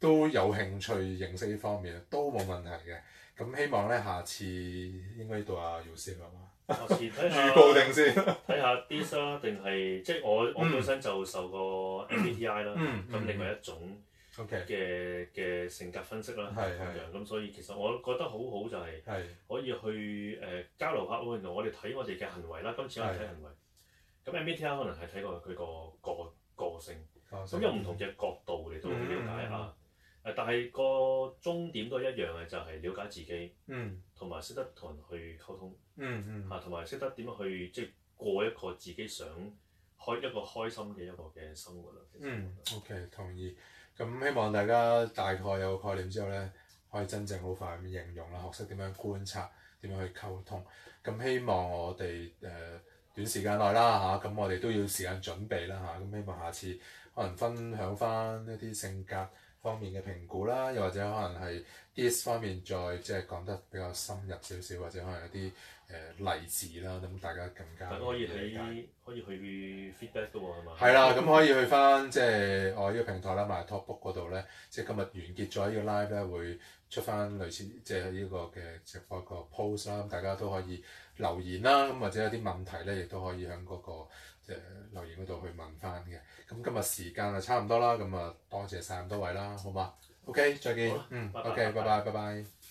都有興趣認識呢方面都冇問題嘅。咁希望咧下次應該到阿姚師係嘛？ 下次睇下預告定先， 睇下 dis 啦，定係即係我本身就受過 MBTI 啦，咁另外一種嘅性格分析啦，咁所以其實我覺得好好就係可以去交流下，原來我哋睇我哋嘅行為啦，今次我哋睇行為，咁 MBTI 可能係睇過佢個性，咁有唔同嘅角度嚟到了解下。但係個終點都一樣嘅，就係了解自己，同埋識得同人去溝通，同埋識得點樣去即係過一個自己想開一個開心嘅一個嘅生活啦。 OK 同意。咁希望大家大概有個概念之後咧，可以真正好快咁應用啦，學識點樣觀察，點樣去溝通。咁希望我哋短時間內啦嚇，咁我哋都要時間準備啦嚇。咁希望下次可能分享翻一啲性格方面嘅評估啦，又或者可能係 DISC 方面再即係講得比較深入少少，或者可能有啲例子啦，咁大家更加可以去 feedback 嘅喎，係嘛？ 係啦，咁可以去翻即係我呢個平台啦，MyTalkBook 嗰度咧，即係今日完結咗呢個 live 咧，會出翻類似即係呢個嘅直播個 post 啦，咁大家都可以留言啦，咁或者有啲問題咧，亦都可以喺嗰個留言嗰度去問翻嘅。咁今日時間就差唔多啦，咁啊多謝晒咁多位啦，好嘛？OK，再見。OK，拜拜。